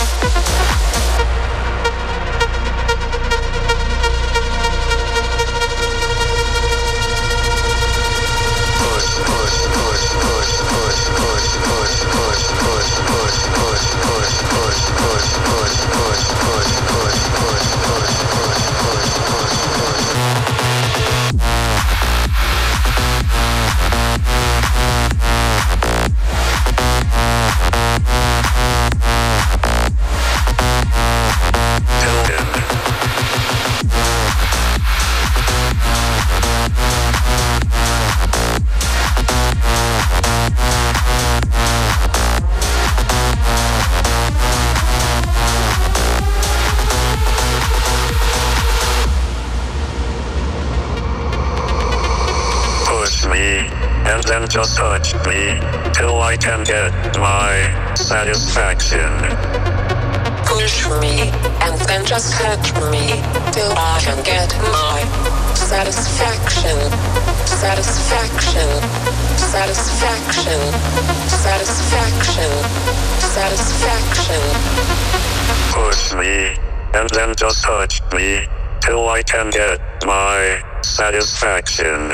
Speaker 10: Just touch me till I can get my satisfaction.
Speaker 11: Push me and then just touch me till I can get my satisfaction. Satisfaction. Satisfaction. Satisfaction. Satisfaction.
Speaker 10: Push me and then just touch me till I can get my satisfaction.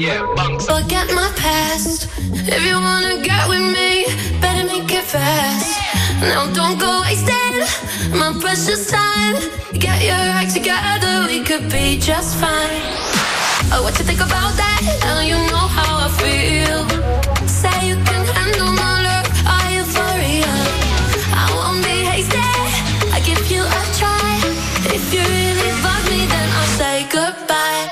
Speaker 7: Forget my past. If you wanna get with me, better make it fast. Now don't go wasting my precious time. Get your act together, we could be just fine. Oh, what you think about that? Now you know how I feel. Say you can handle my love, are you for real? I won't be hasty, I give you a try. If you really fuck me, then I'll say goodbye.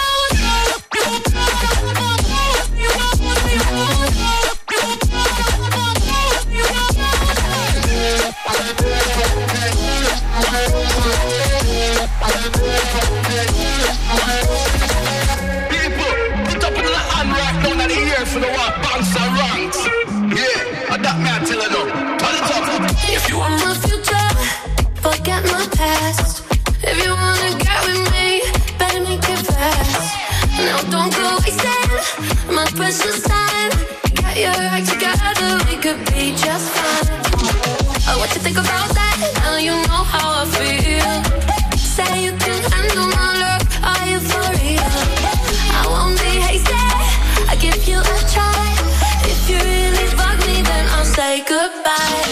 Speaker 12: For the what bounce and ranks. Yeah, that me I tell you no. Turn it up.
Speaker 7: If you want my future, forget my past. If you wanna get with me, better make it fast. Now don't go wasting my precious time. Get your act together, we could be just fine. Oh, what you think about that? Now you know how I feel. Say you can handle my love, are you for real? I won't be hasty, I give you a try. If you really fuck me, then I'll say goodbye.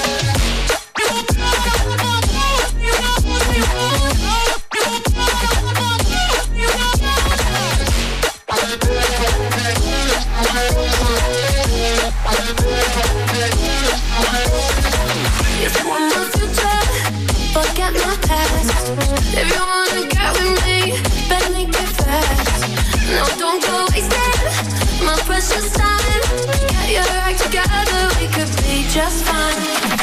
Speaker 7: If you want my future, forget my past. If you wanna get with me, better make it fast. No, don't go wasting my precious time. Get your act together, we could be just fine.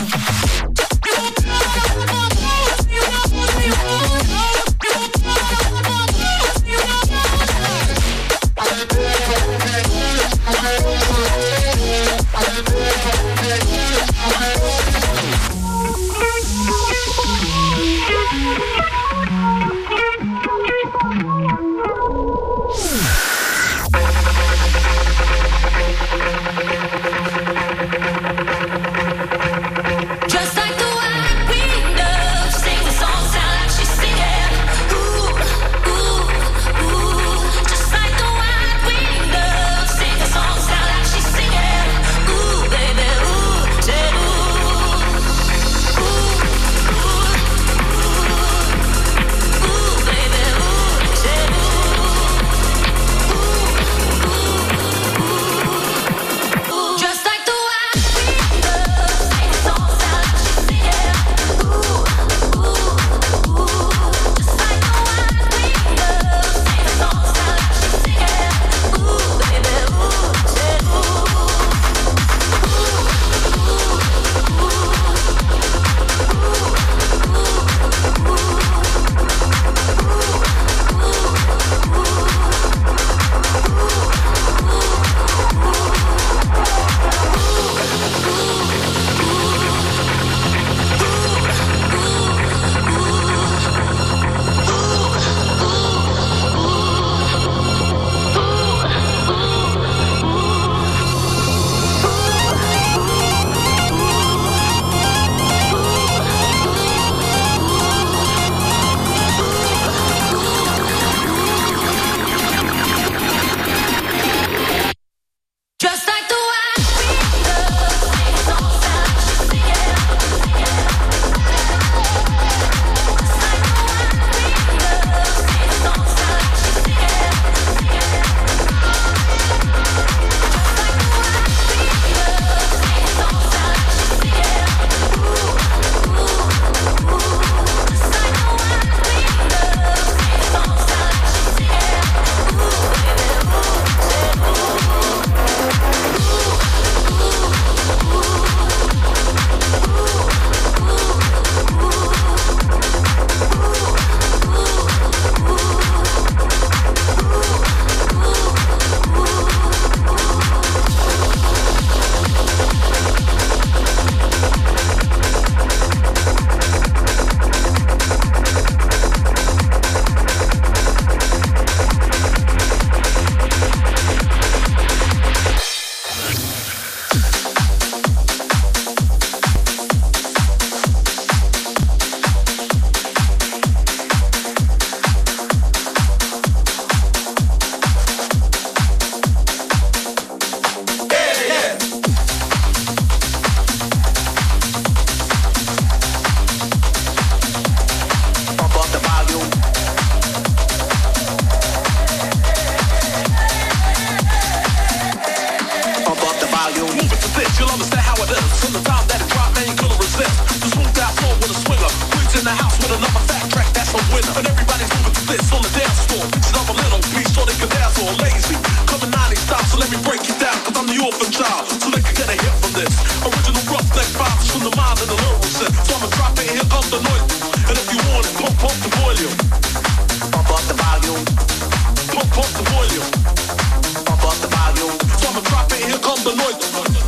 Speaker 3: me break it down, cause I'm the orphan child, so they can get a hit from this. Original roughneck vibes from the mind and the lyrical set. So I'ma drop it, here comes the noise. And if you want it, pump up the volume. Pump up the volume. Pump up the volume. Pump up the volume. So I'ma drop it, here comes the noise.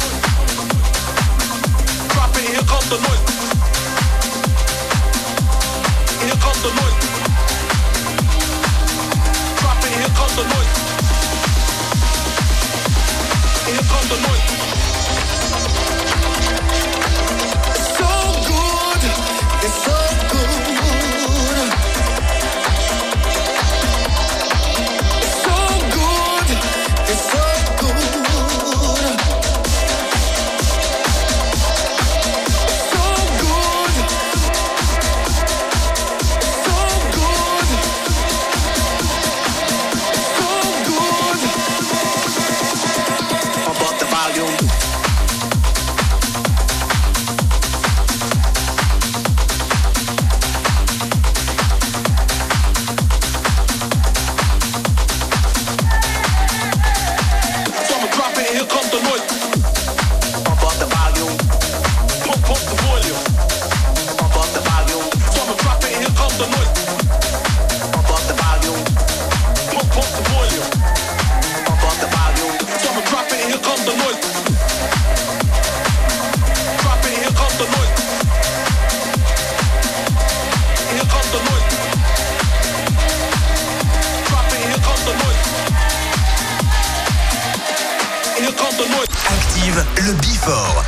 Speaker 3: Drop it, here comes the noise. Here comes the noise. Drop it, here comes the noise. Here comes the noise. It's so good. It's so good. It's so good. It's so good.
Speaker 1: Active le Before.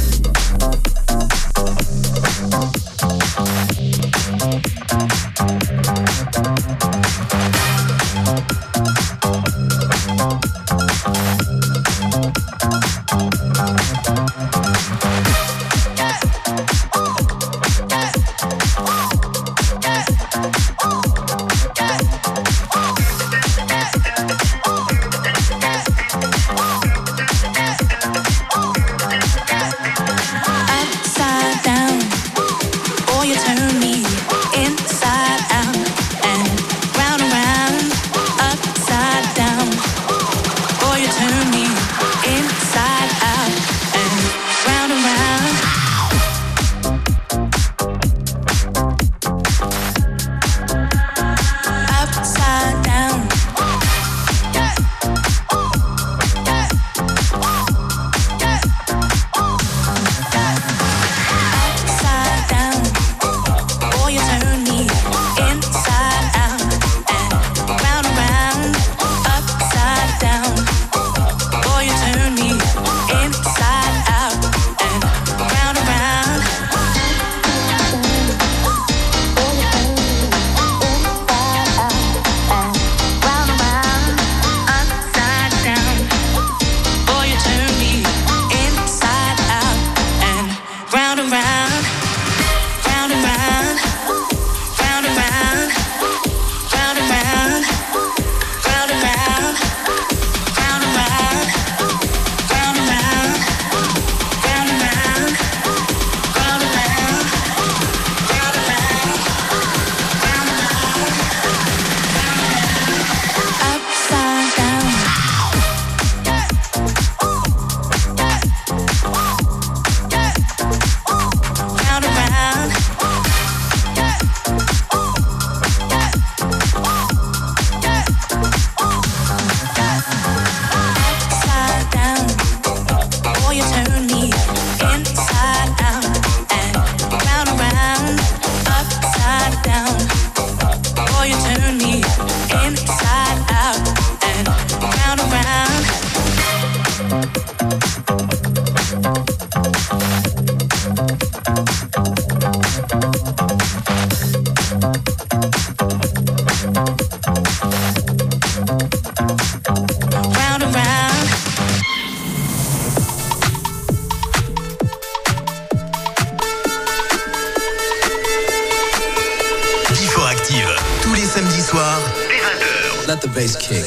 Speaker 13: samedi soir, dès 20h. Let the bass kick.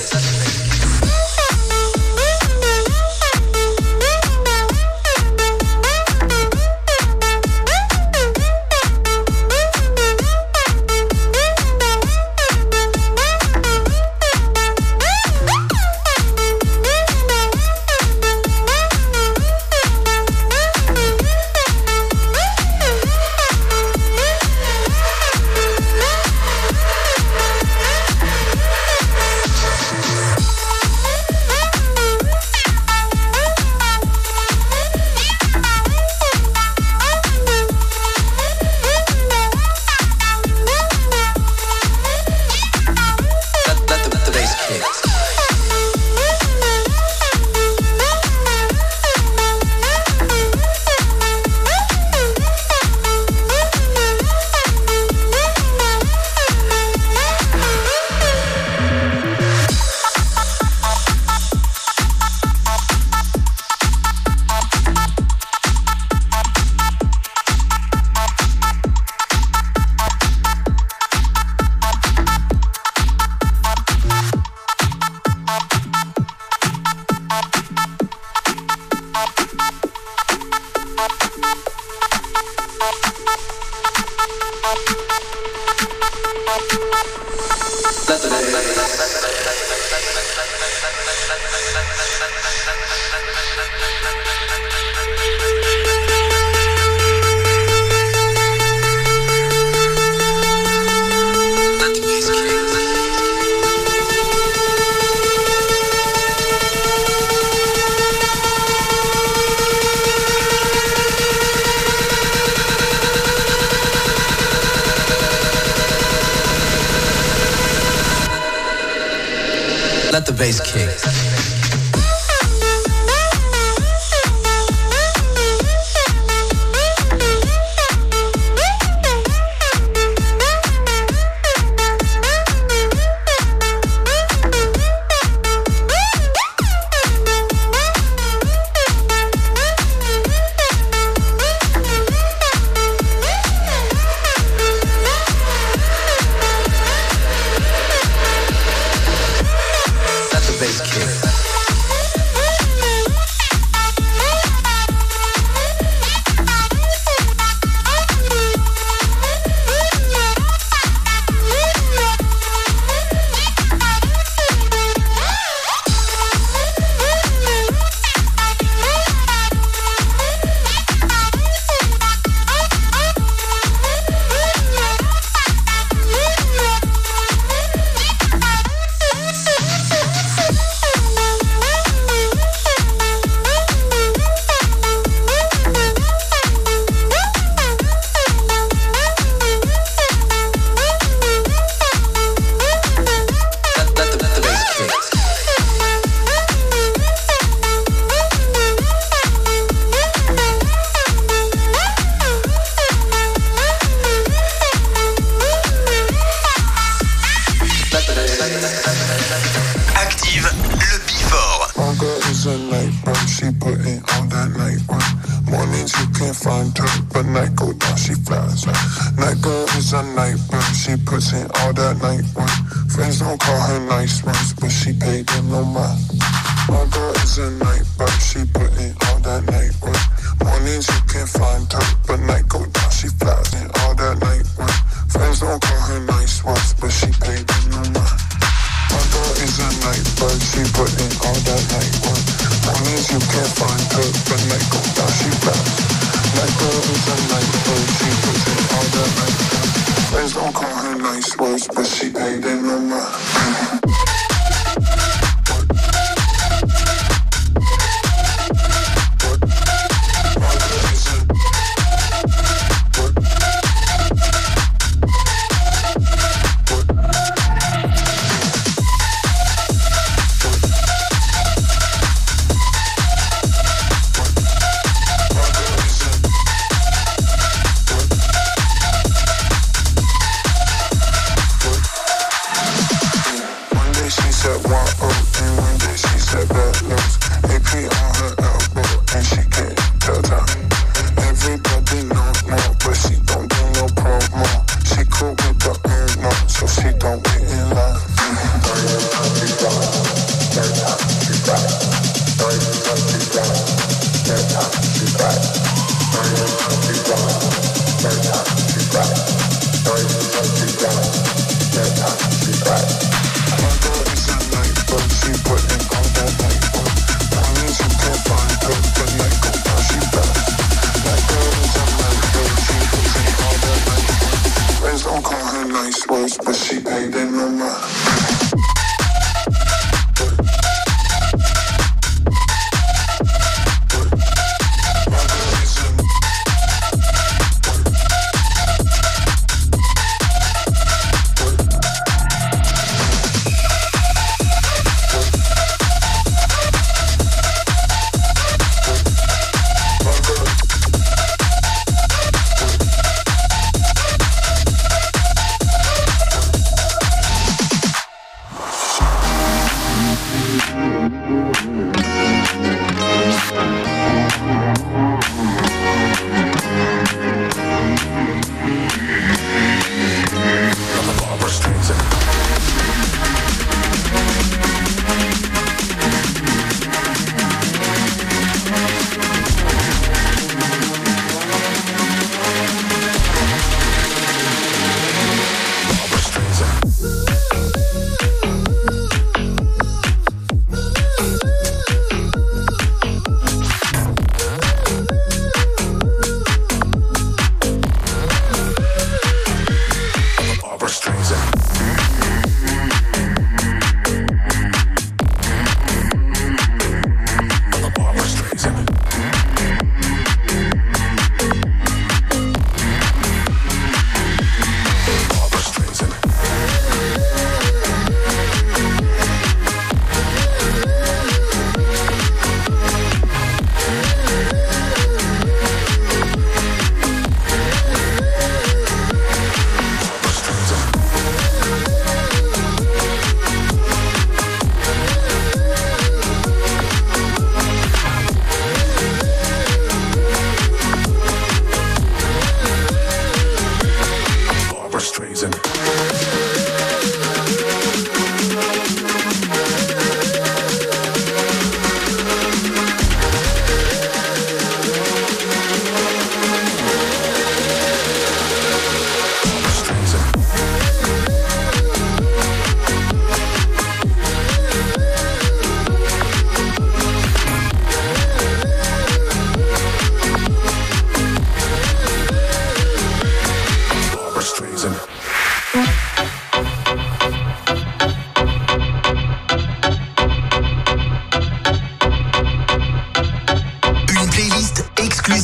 Speaker 13: the bass kick.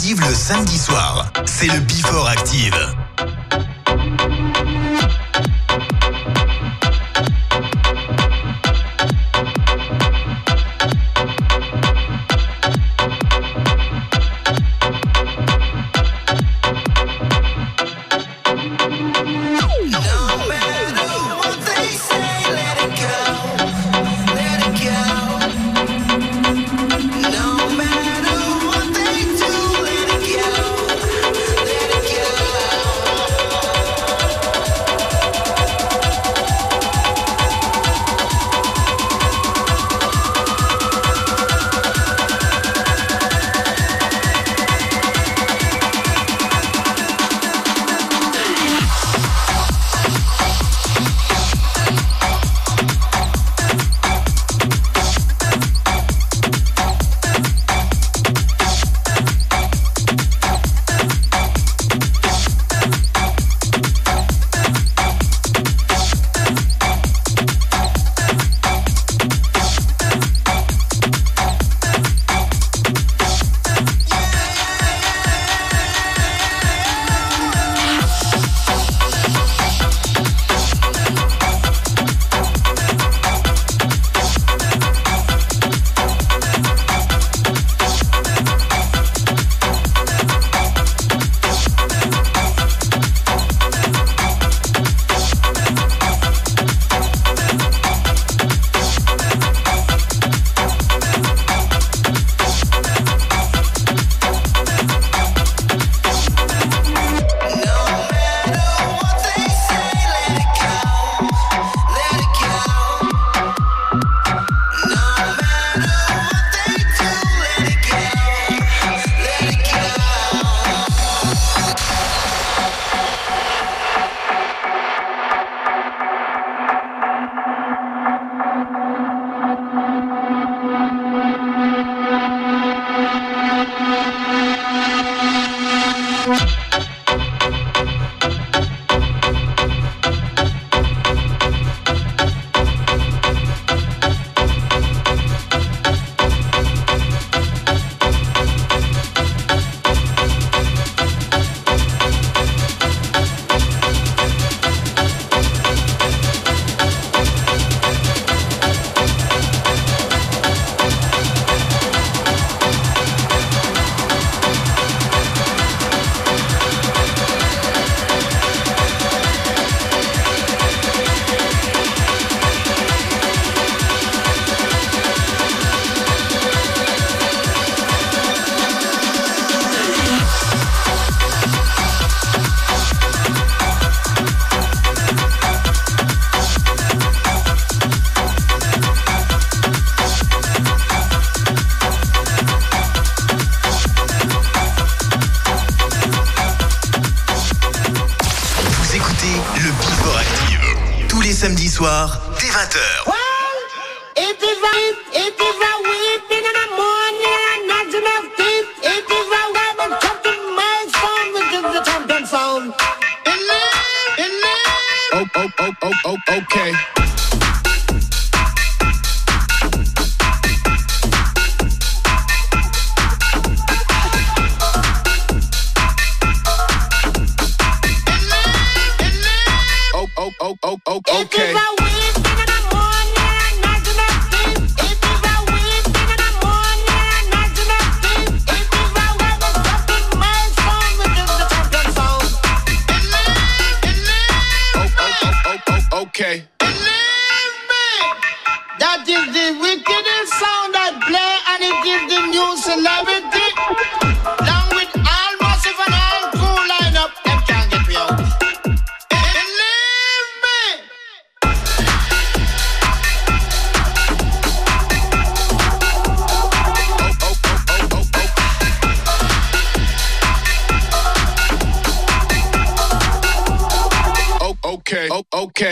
Speaker 1: Active le samedi soir. C'est le Before Active. Samedi soir, dès 20h.
Speaker 14: Okay. Okay. Okay.
Speaker 5: That is the wickedest sound that play, and it is the new celebrity. Along with all massive and all cool lineup, them can't get me out. Believe me.
Speaker 14: Okay. Okay.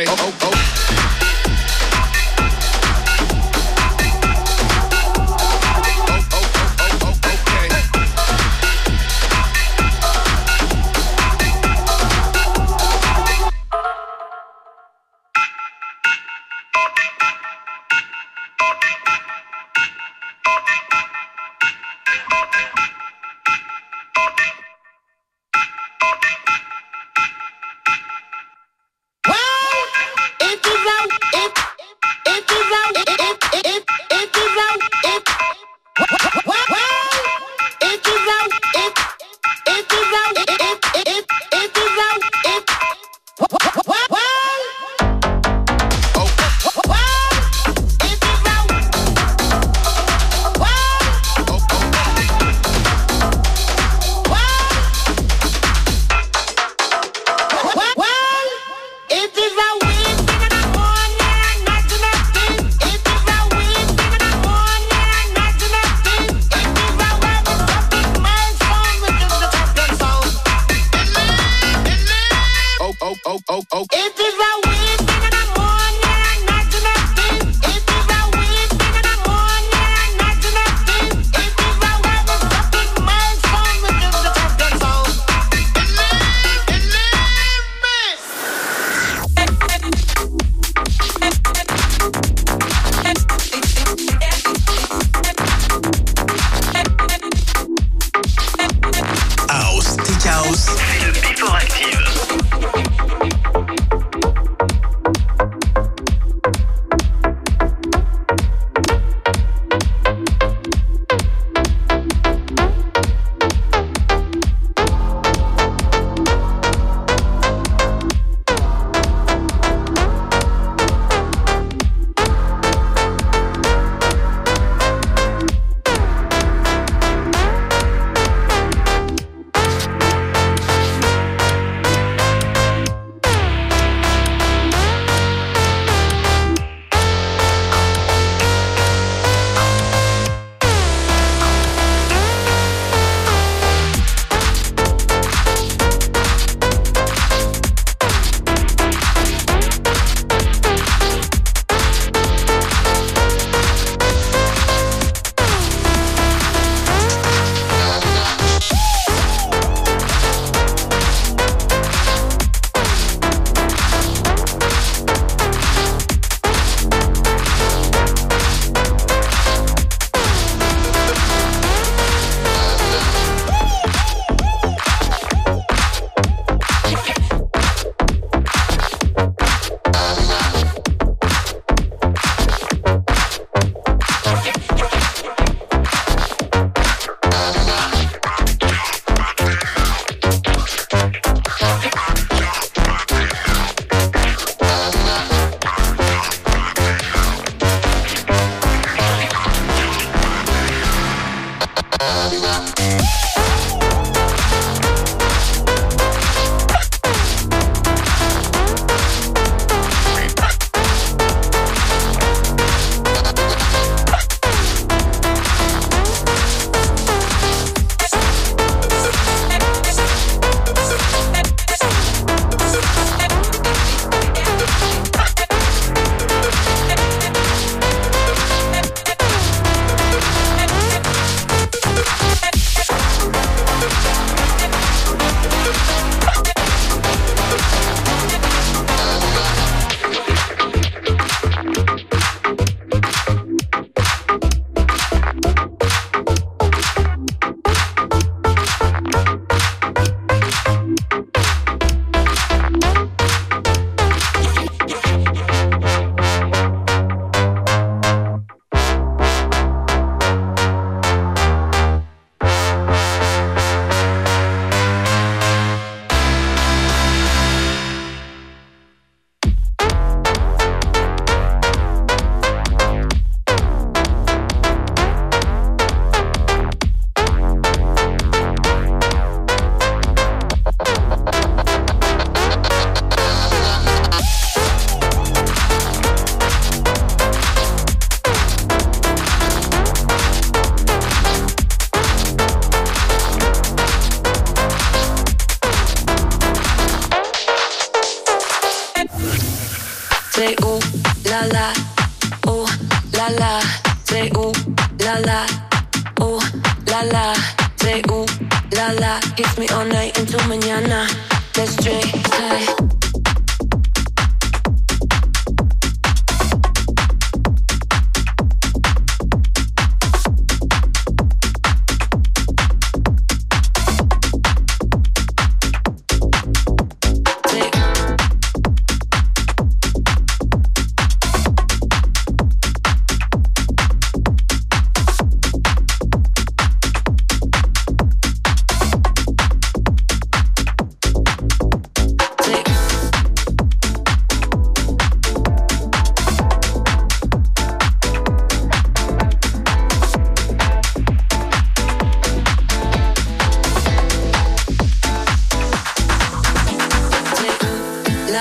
Speaker 15: say ooh la la, ooh la la, say ooh la la, ooh la la, say ooh la la, kiss me all night until mañana. Let's drink high.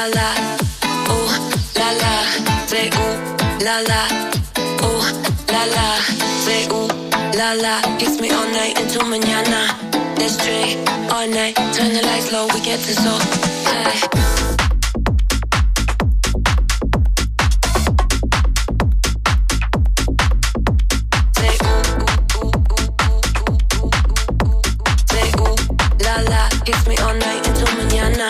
Speaker 15: la, ooh la la, say ooh la la, ooh la la, say ooh la la. Kiss me all night into mañana. Let's drink all night, turn the lights low, we get this so high. Kiss me all night until mañana.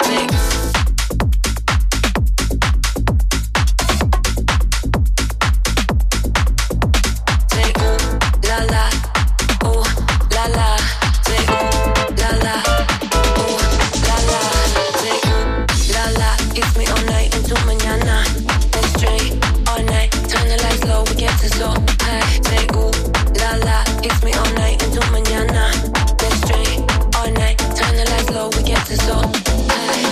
Speaker 15: Say ooh la la, ooh la la. Say ooh la la, ooh la la. Say ooh la la. Kiss me all night until mañana. Let's drink all night, turn the lights low, we get to so high. Say ooh la la. Kiss me all night until mañana. Let's drink all night. Turn the lights low, we get to so high.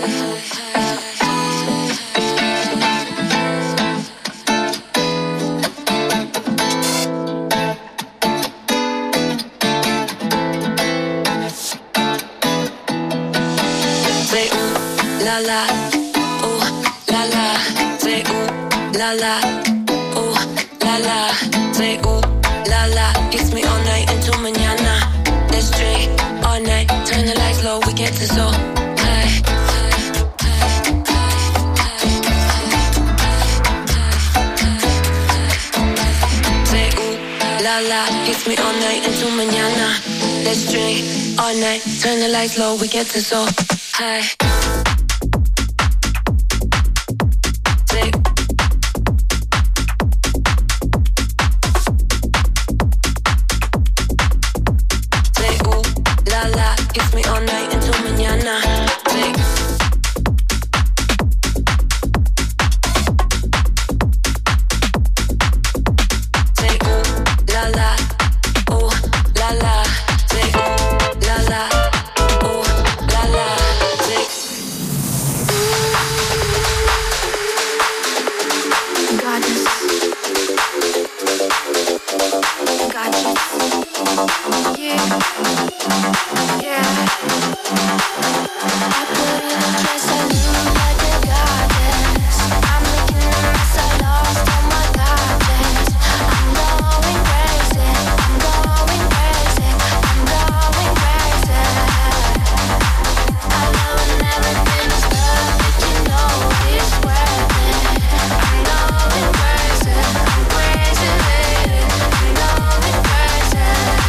Speaker 15: Say ooh la la, ooh la la. Say ooh la la, ooh la la. Say ooh la la. Kiss me all night until mañana. Let's drink all night, turn the lights low, we get to so high. Say ooh la la, kiss me all night until mañana. Let's drink all night, turn the lights low, we get to so high. Kiss me all night until mañana. Say ooh la la, ooh la la. Say ooh la la, ooh la la. Say goddess, goddess, yeah. Yeah, I put in a dress, I look like a goddess. I'm making a mess, I lost all my goddess. I'm going crazy, I'm going crazy, I'm going crazy. I love when everything is perfect, you know it's worth it. I'm going crazy, I'm crazy, lady. I'm going crazy.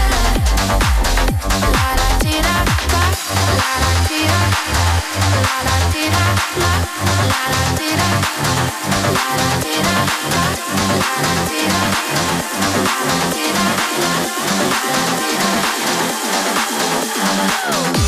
Speaker 15: La la ti da da, la la ti da, la la ti da, la la ti da, la la ti da, la la ti da, la la ti da, la la ti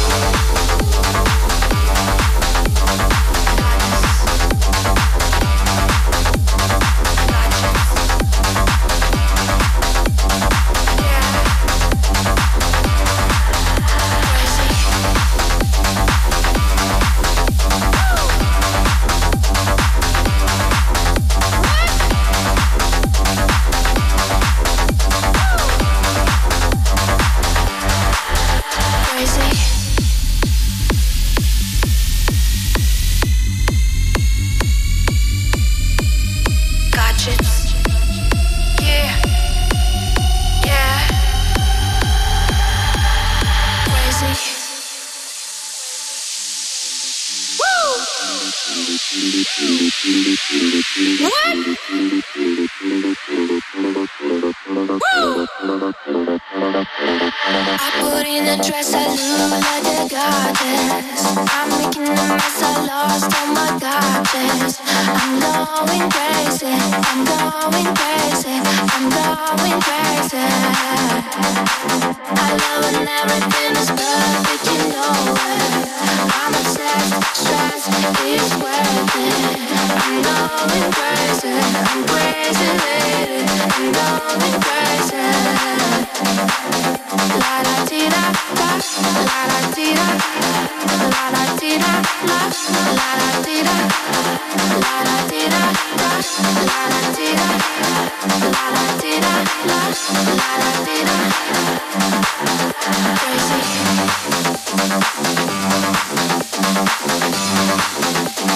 Speaker 15: Crazy.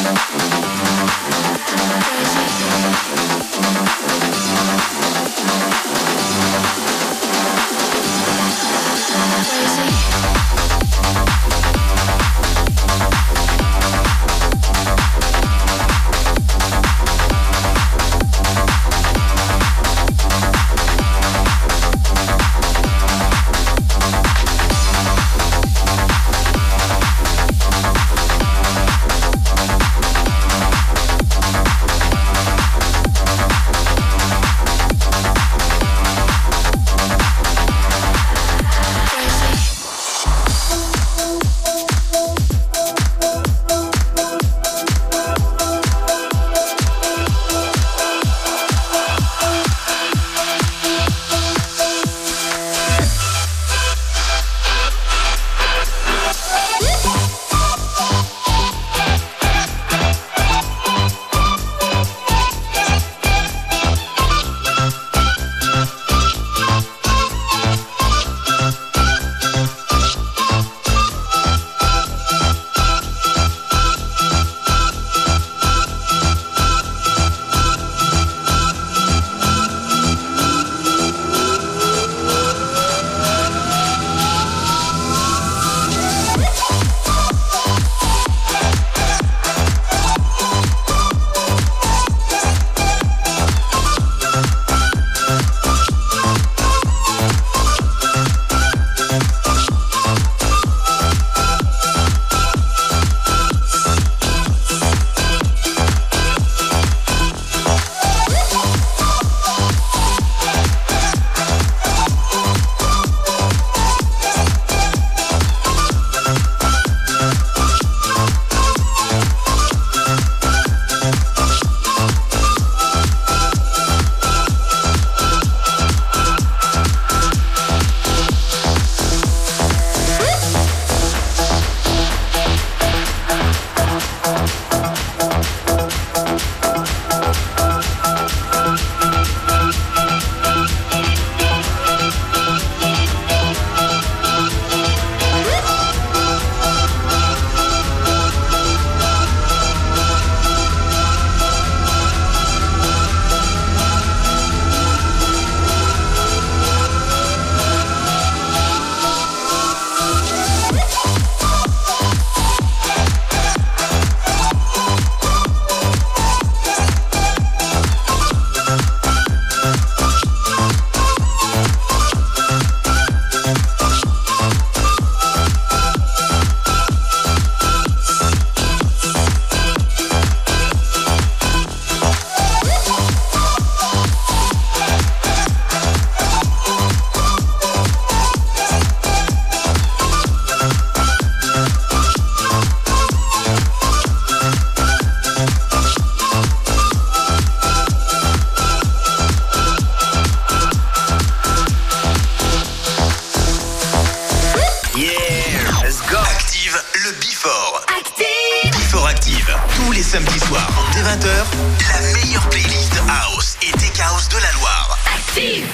Speaker 1: samedis soirs, dès 20h, la meilleure playlist House et Tech House de la Loire. Active!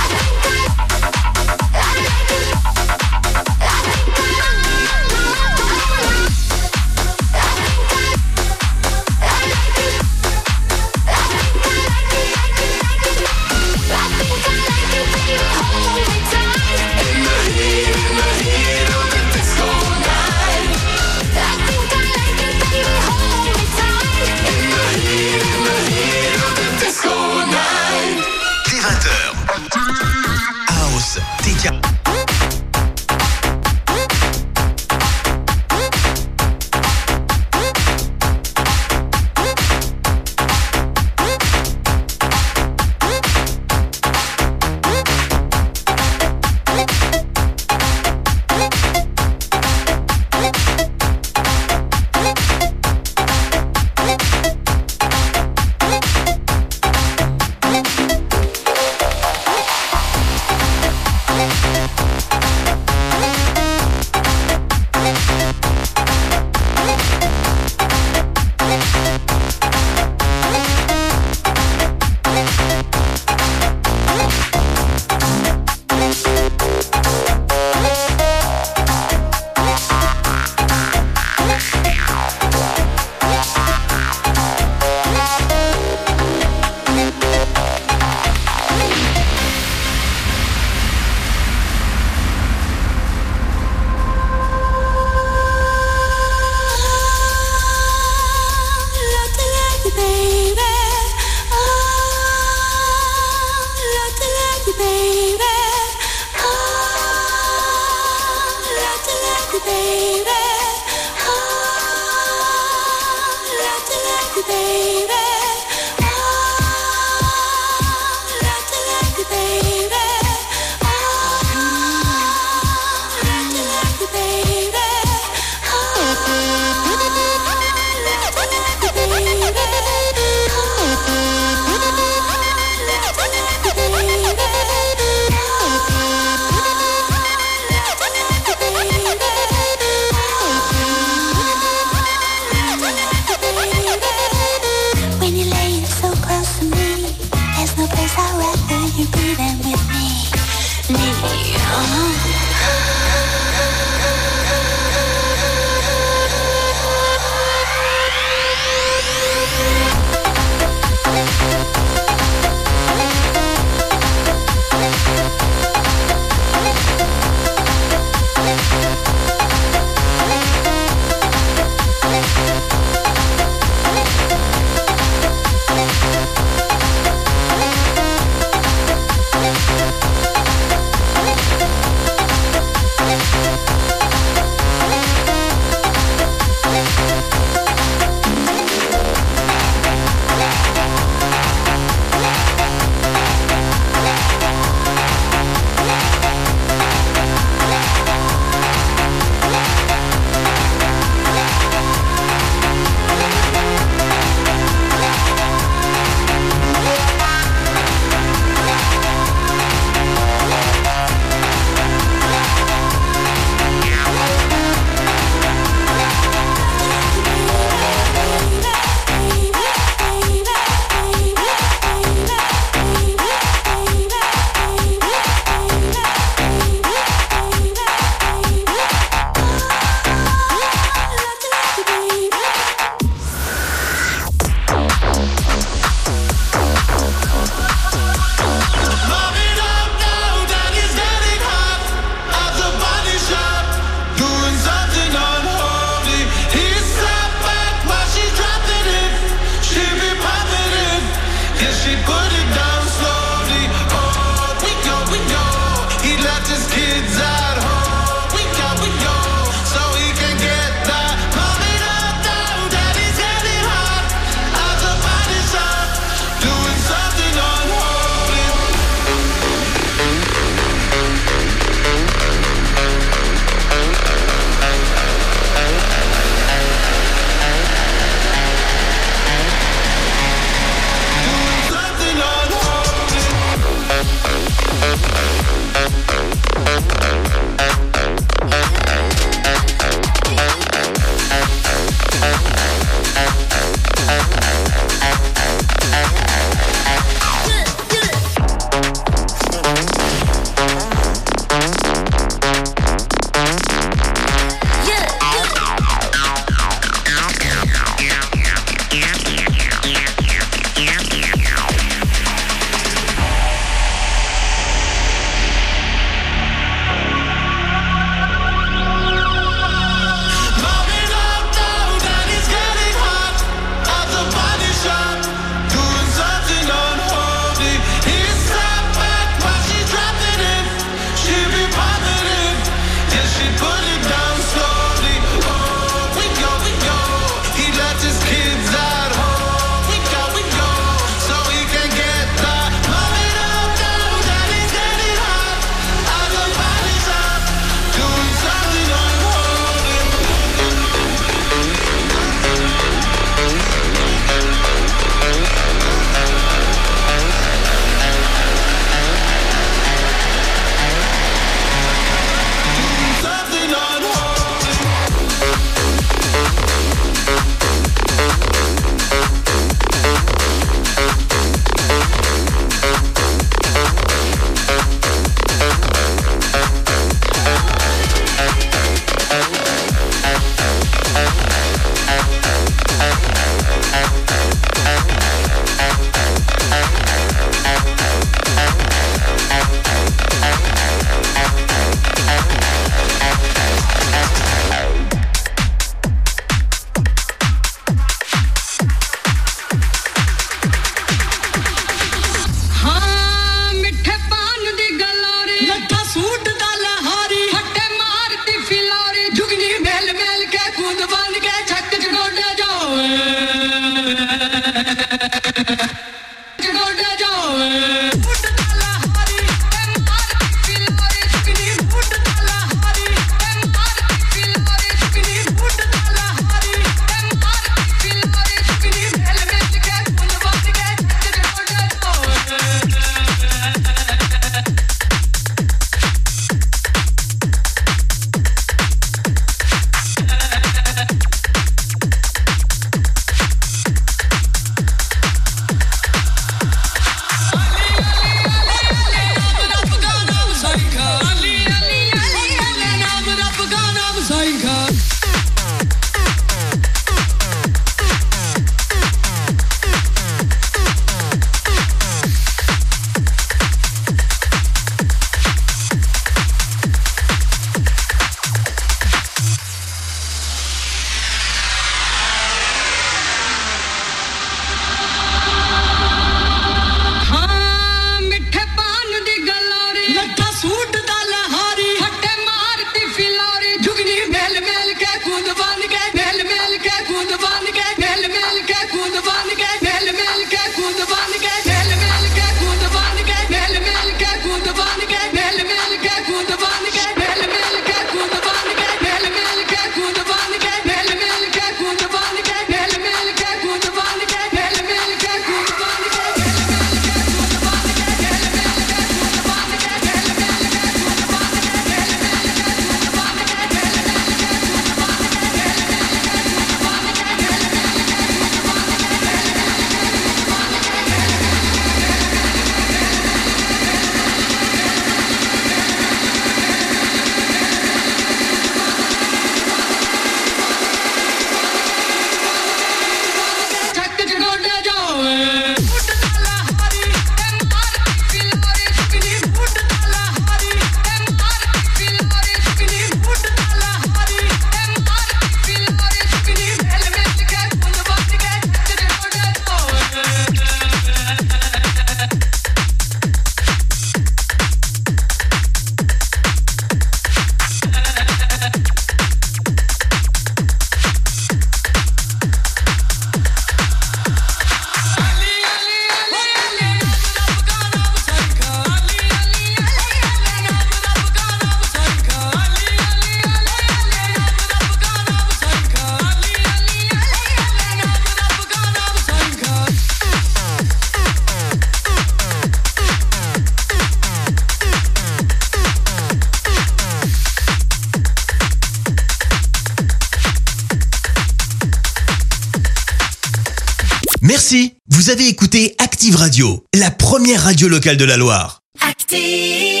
Speaker 1: Merci, vous avez écouté Active Radio, la première radio locale de la Loire.
Speaker 7: Active!